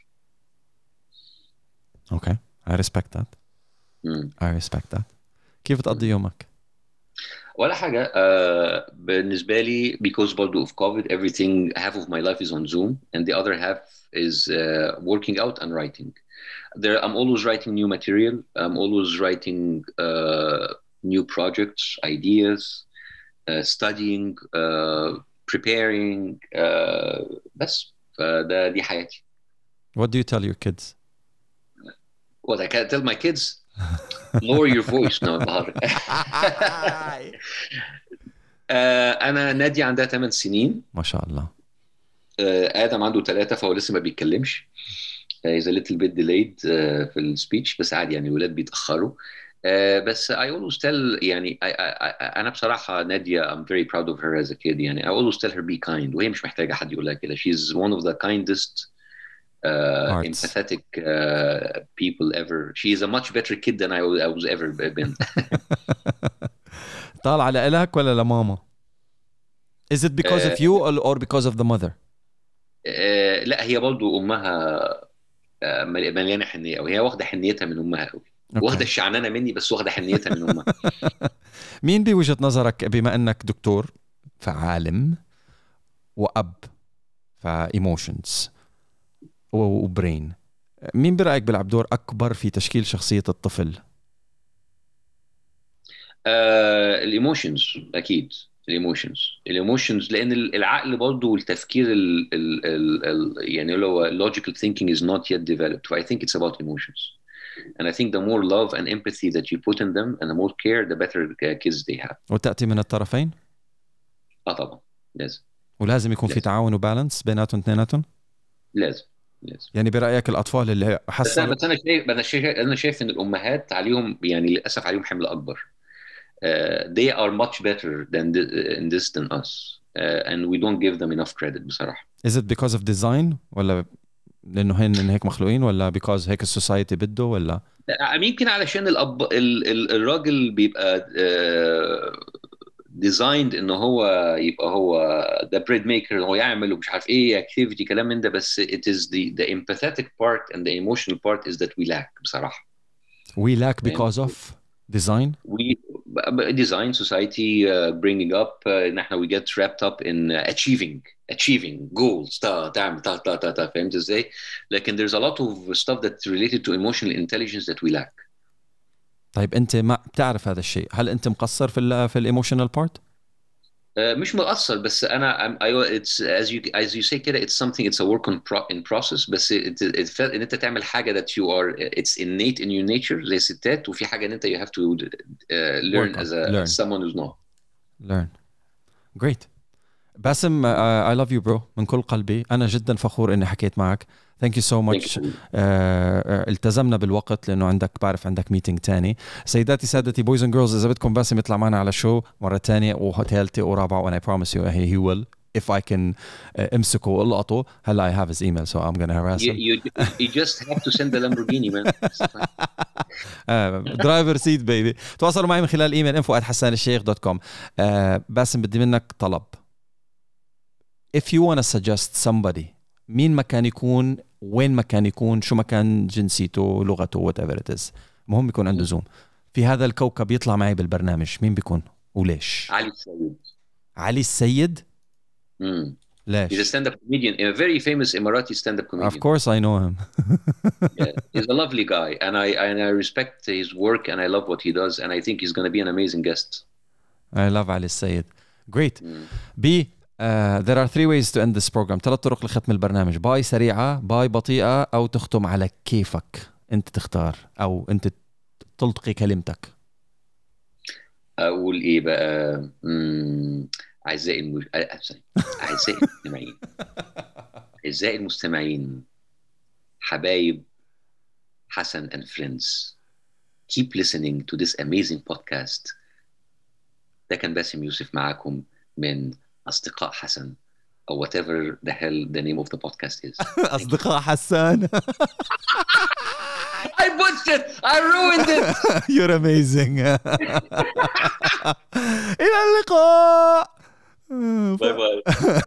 Okay, I respect that. I respect that. كيف تقضي يومك؟ ولا حاجة بالنسبة لي because برضو of COVID everything half of my life is on Zoom and the other half is working out and writing. I'm always writing new material. I'm always writing new projects, ideas, studying, preparing. بس دي حياتي. What do you tell your kids? What I can tell my kids? Lower your voice. No, بهار. أنا نادية عندها 8 سنين. ما شاء الله. آدم عنده 3 فهو لسه ما بيتكلمش. He's a little bit delayed في السبيتش بس عادي يعني الولاد بيتأخروا. بس I always tell يعني أنا بصراحة نادية I'm very proud of her as a kid يعني I always tell her be kind وهي مش محتاجة حد يقولها كده. She's one of the kindest empathetic people ever. She is a much better kid than I was ever been. طالعة لإلك ولا لماما؟ Is it because of you or because of the mother? لا هي برضو أمها مليانة حنية أو هي واخدة حنيتها من أمها قوي. واخدة الشعنانة مني بس واخدة حنيتها من أمها. مين بوجهة نظرك بما أنك دكتور فعالم وأب فإيموشنز وبرين مين برأيك بيلعب دور أكبر في تشكيل شخصية الطفل؟ الإيموشنز أكيد الإيموشنز لأن العقل برضه والتفكير يعني اللي هو logical thinking is not yet developed. I think it's about emotions. And I think the more love and empathy that you put in them and the more care the better kids they have. وتأتي من الطرفين؟ طبعا لازم. ولازم يكون في تعاون وبالانس بيناتهم اثنيناتهم؟ لازم. يعني برأيك الأطفال اللي حصلوا بس أنا شايف إن الأمهات عليهم يعني للأسف عليهم حمل أكبر. They are much better in this than us and we don't give them enough credit بصراحة. Is it because of design ولا لأنه هن هيك مخلوقين ولا because هيك السوسايتي بده ولا؟ يمكن علشان الراجل بيبقى designed إنه هو يبقى هو the bread maker هو يعمل ومش عارف إيه activity كلام من ده بس it is the empathetic part and the emotional part is that we lack بصراحة. We lack because of design? Design society bringing up ان احنا we get wrapped up in achieving goals تعمل فهمت ازاي؟ لكن there's a lot of stuff that's related to emotional intelligence that we lack. طيب انت ما بتعرف هذا الشيء، هل انت مقصر في الايموشنال بارت؟ مش مقصر بس انا it's as you say كده it's a work in process بس ان انت تعمل حاجه that you are it's innate in your nature زي الستات وفي حاجه ان انت you have to learn as someone who's not. Learn. Great. باسم I love you bro من كل قلبي. أنا جدا فخور إني حكيت معك. Thank you so much. التزمنا بالوقت لأنه بعرف عندك ميتينج تاني. سيداتي سادتي boys and girls إذا بدكم باسم يطلع معنا على شو مرة تانية وثالثة ورابعة and I promise you he will if I can امسكه والقطه. هلا I have his email so I'm gonna harass him. You just have to send the Lamborghini man. driver seat baby. تواصلوا معي من خلال ايميل info@hassanalsheikh.com. باسم بدي منك طلب. If you want to suggest somebody مين ما كان يكون وين ما كان يكون شو ما كان جنسيته لغته whatever it is مهم يكون عنده زوم في هذا الكوكب يطلع معي بالبرنامج مين بيكون وليش؟ علي السيد. علي السيد؟ ليش؟ He's a stand-up comedian, a very famous Emirati stand-up comedian. Of course I know him. Yeah, he's a lovely guy and I respect his work and I love what he does and I think he's going to be an amazing guest. I love علي السيد. Great. There are 3 ways to end this program. 3 طرق لختم البرنامج. باي سريعة، باي بطيئة، أو تختم على كيفك. أنت تختار أو أنت تلتقي كلمتك. أقول إيه بقى؟ أعزائي المستمعين. أعزائي المستمعين. حبايب حسن and friends. keep listening to this amazing podcast. ده كان باسم يوسف معاكم من أصدقاء حسن أو whatever the hell the name of the podcast is. أصدقاء حسان. I butchered it. I ruined it. You're amazing. إلى اللقاء. باي باي.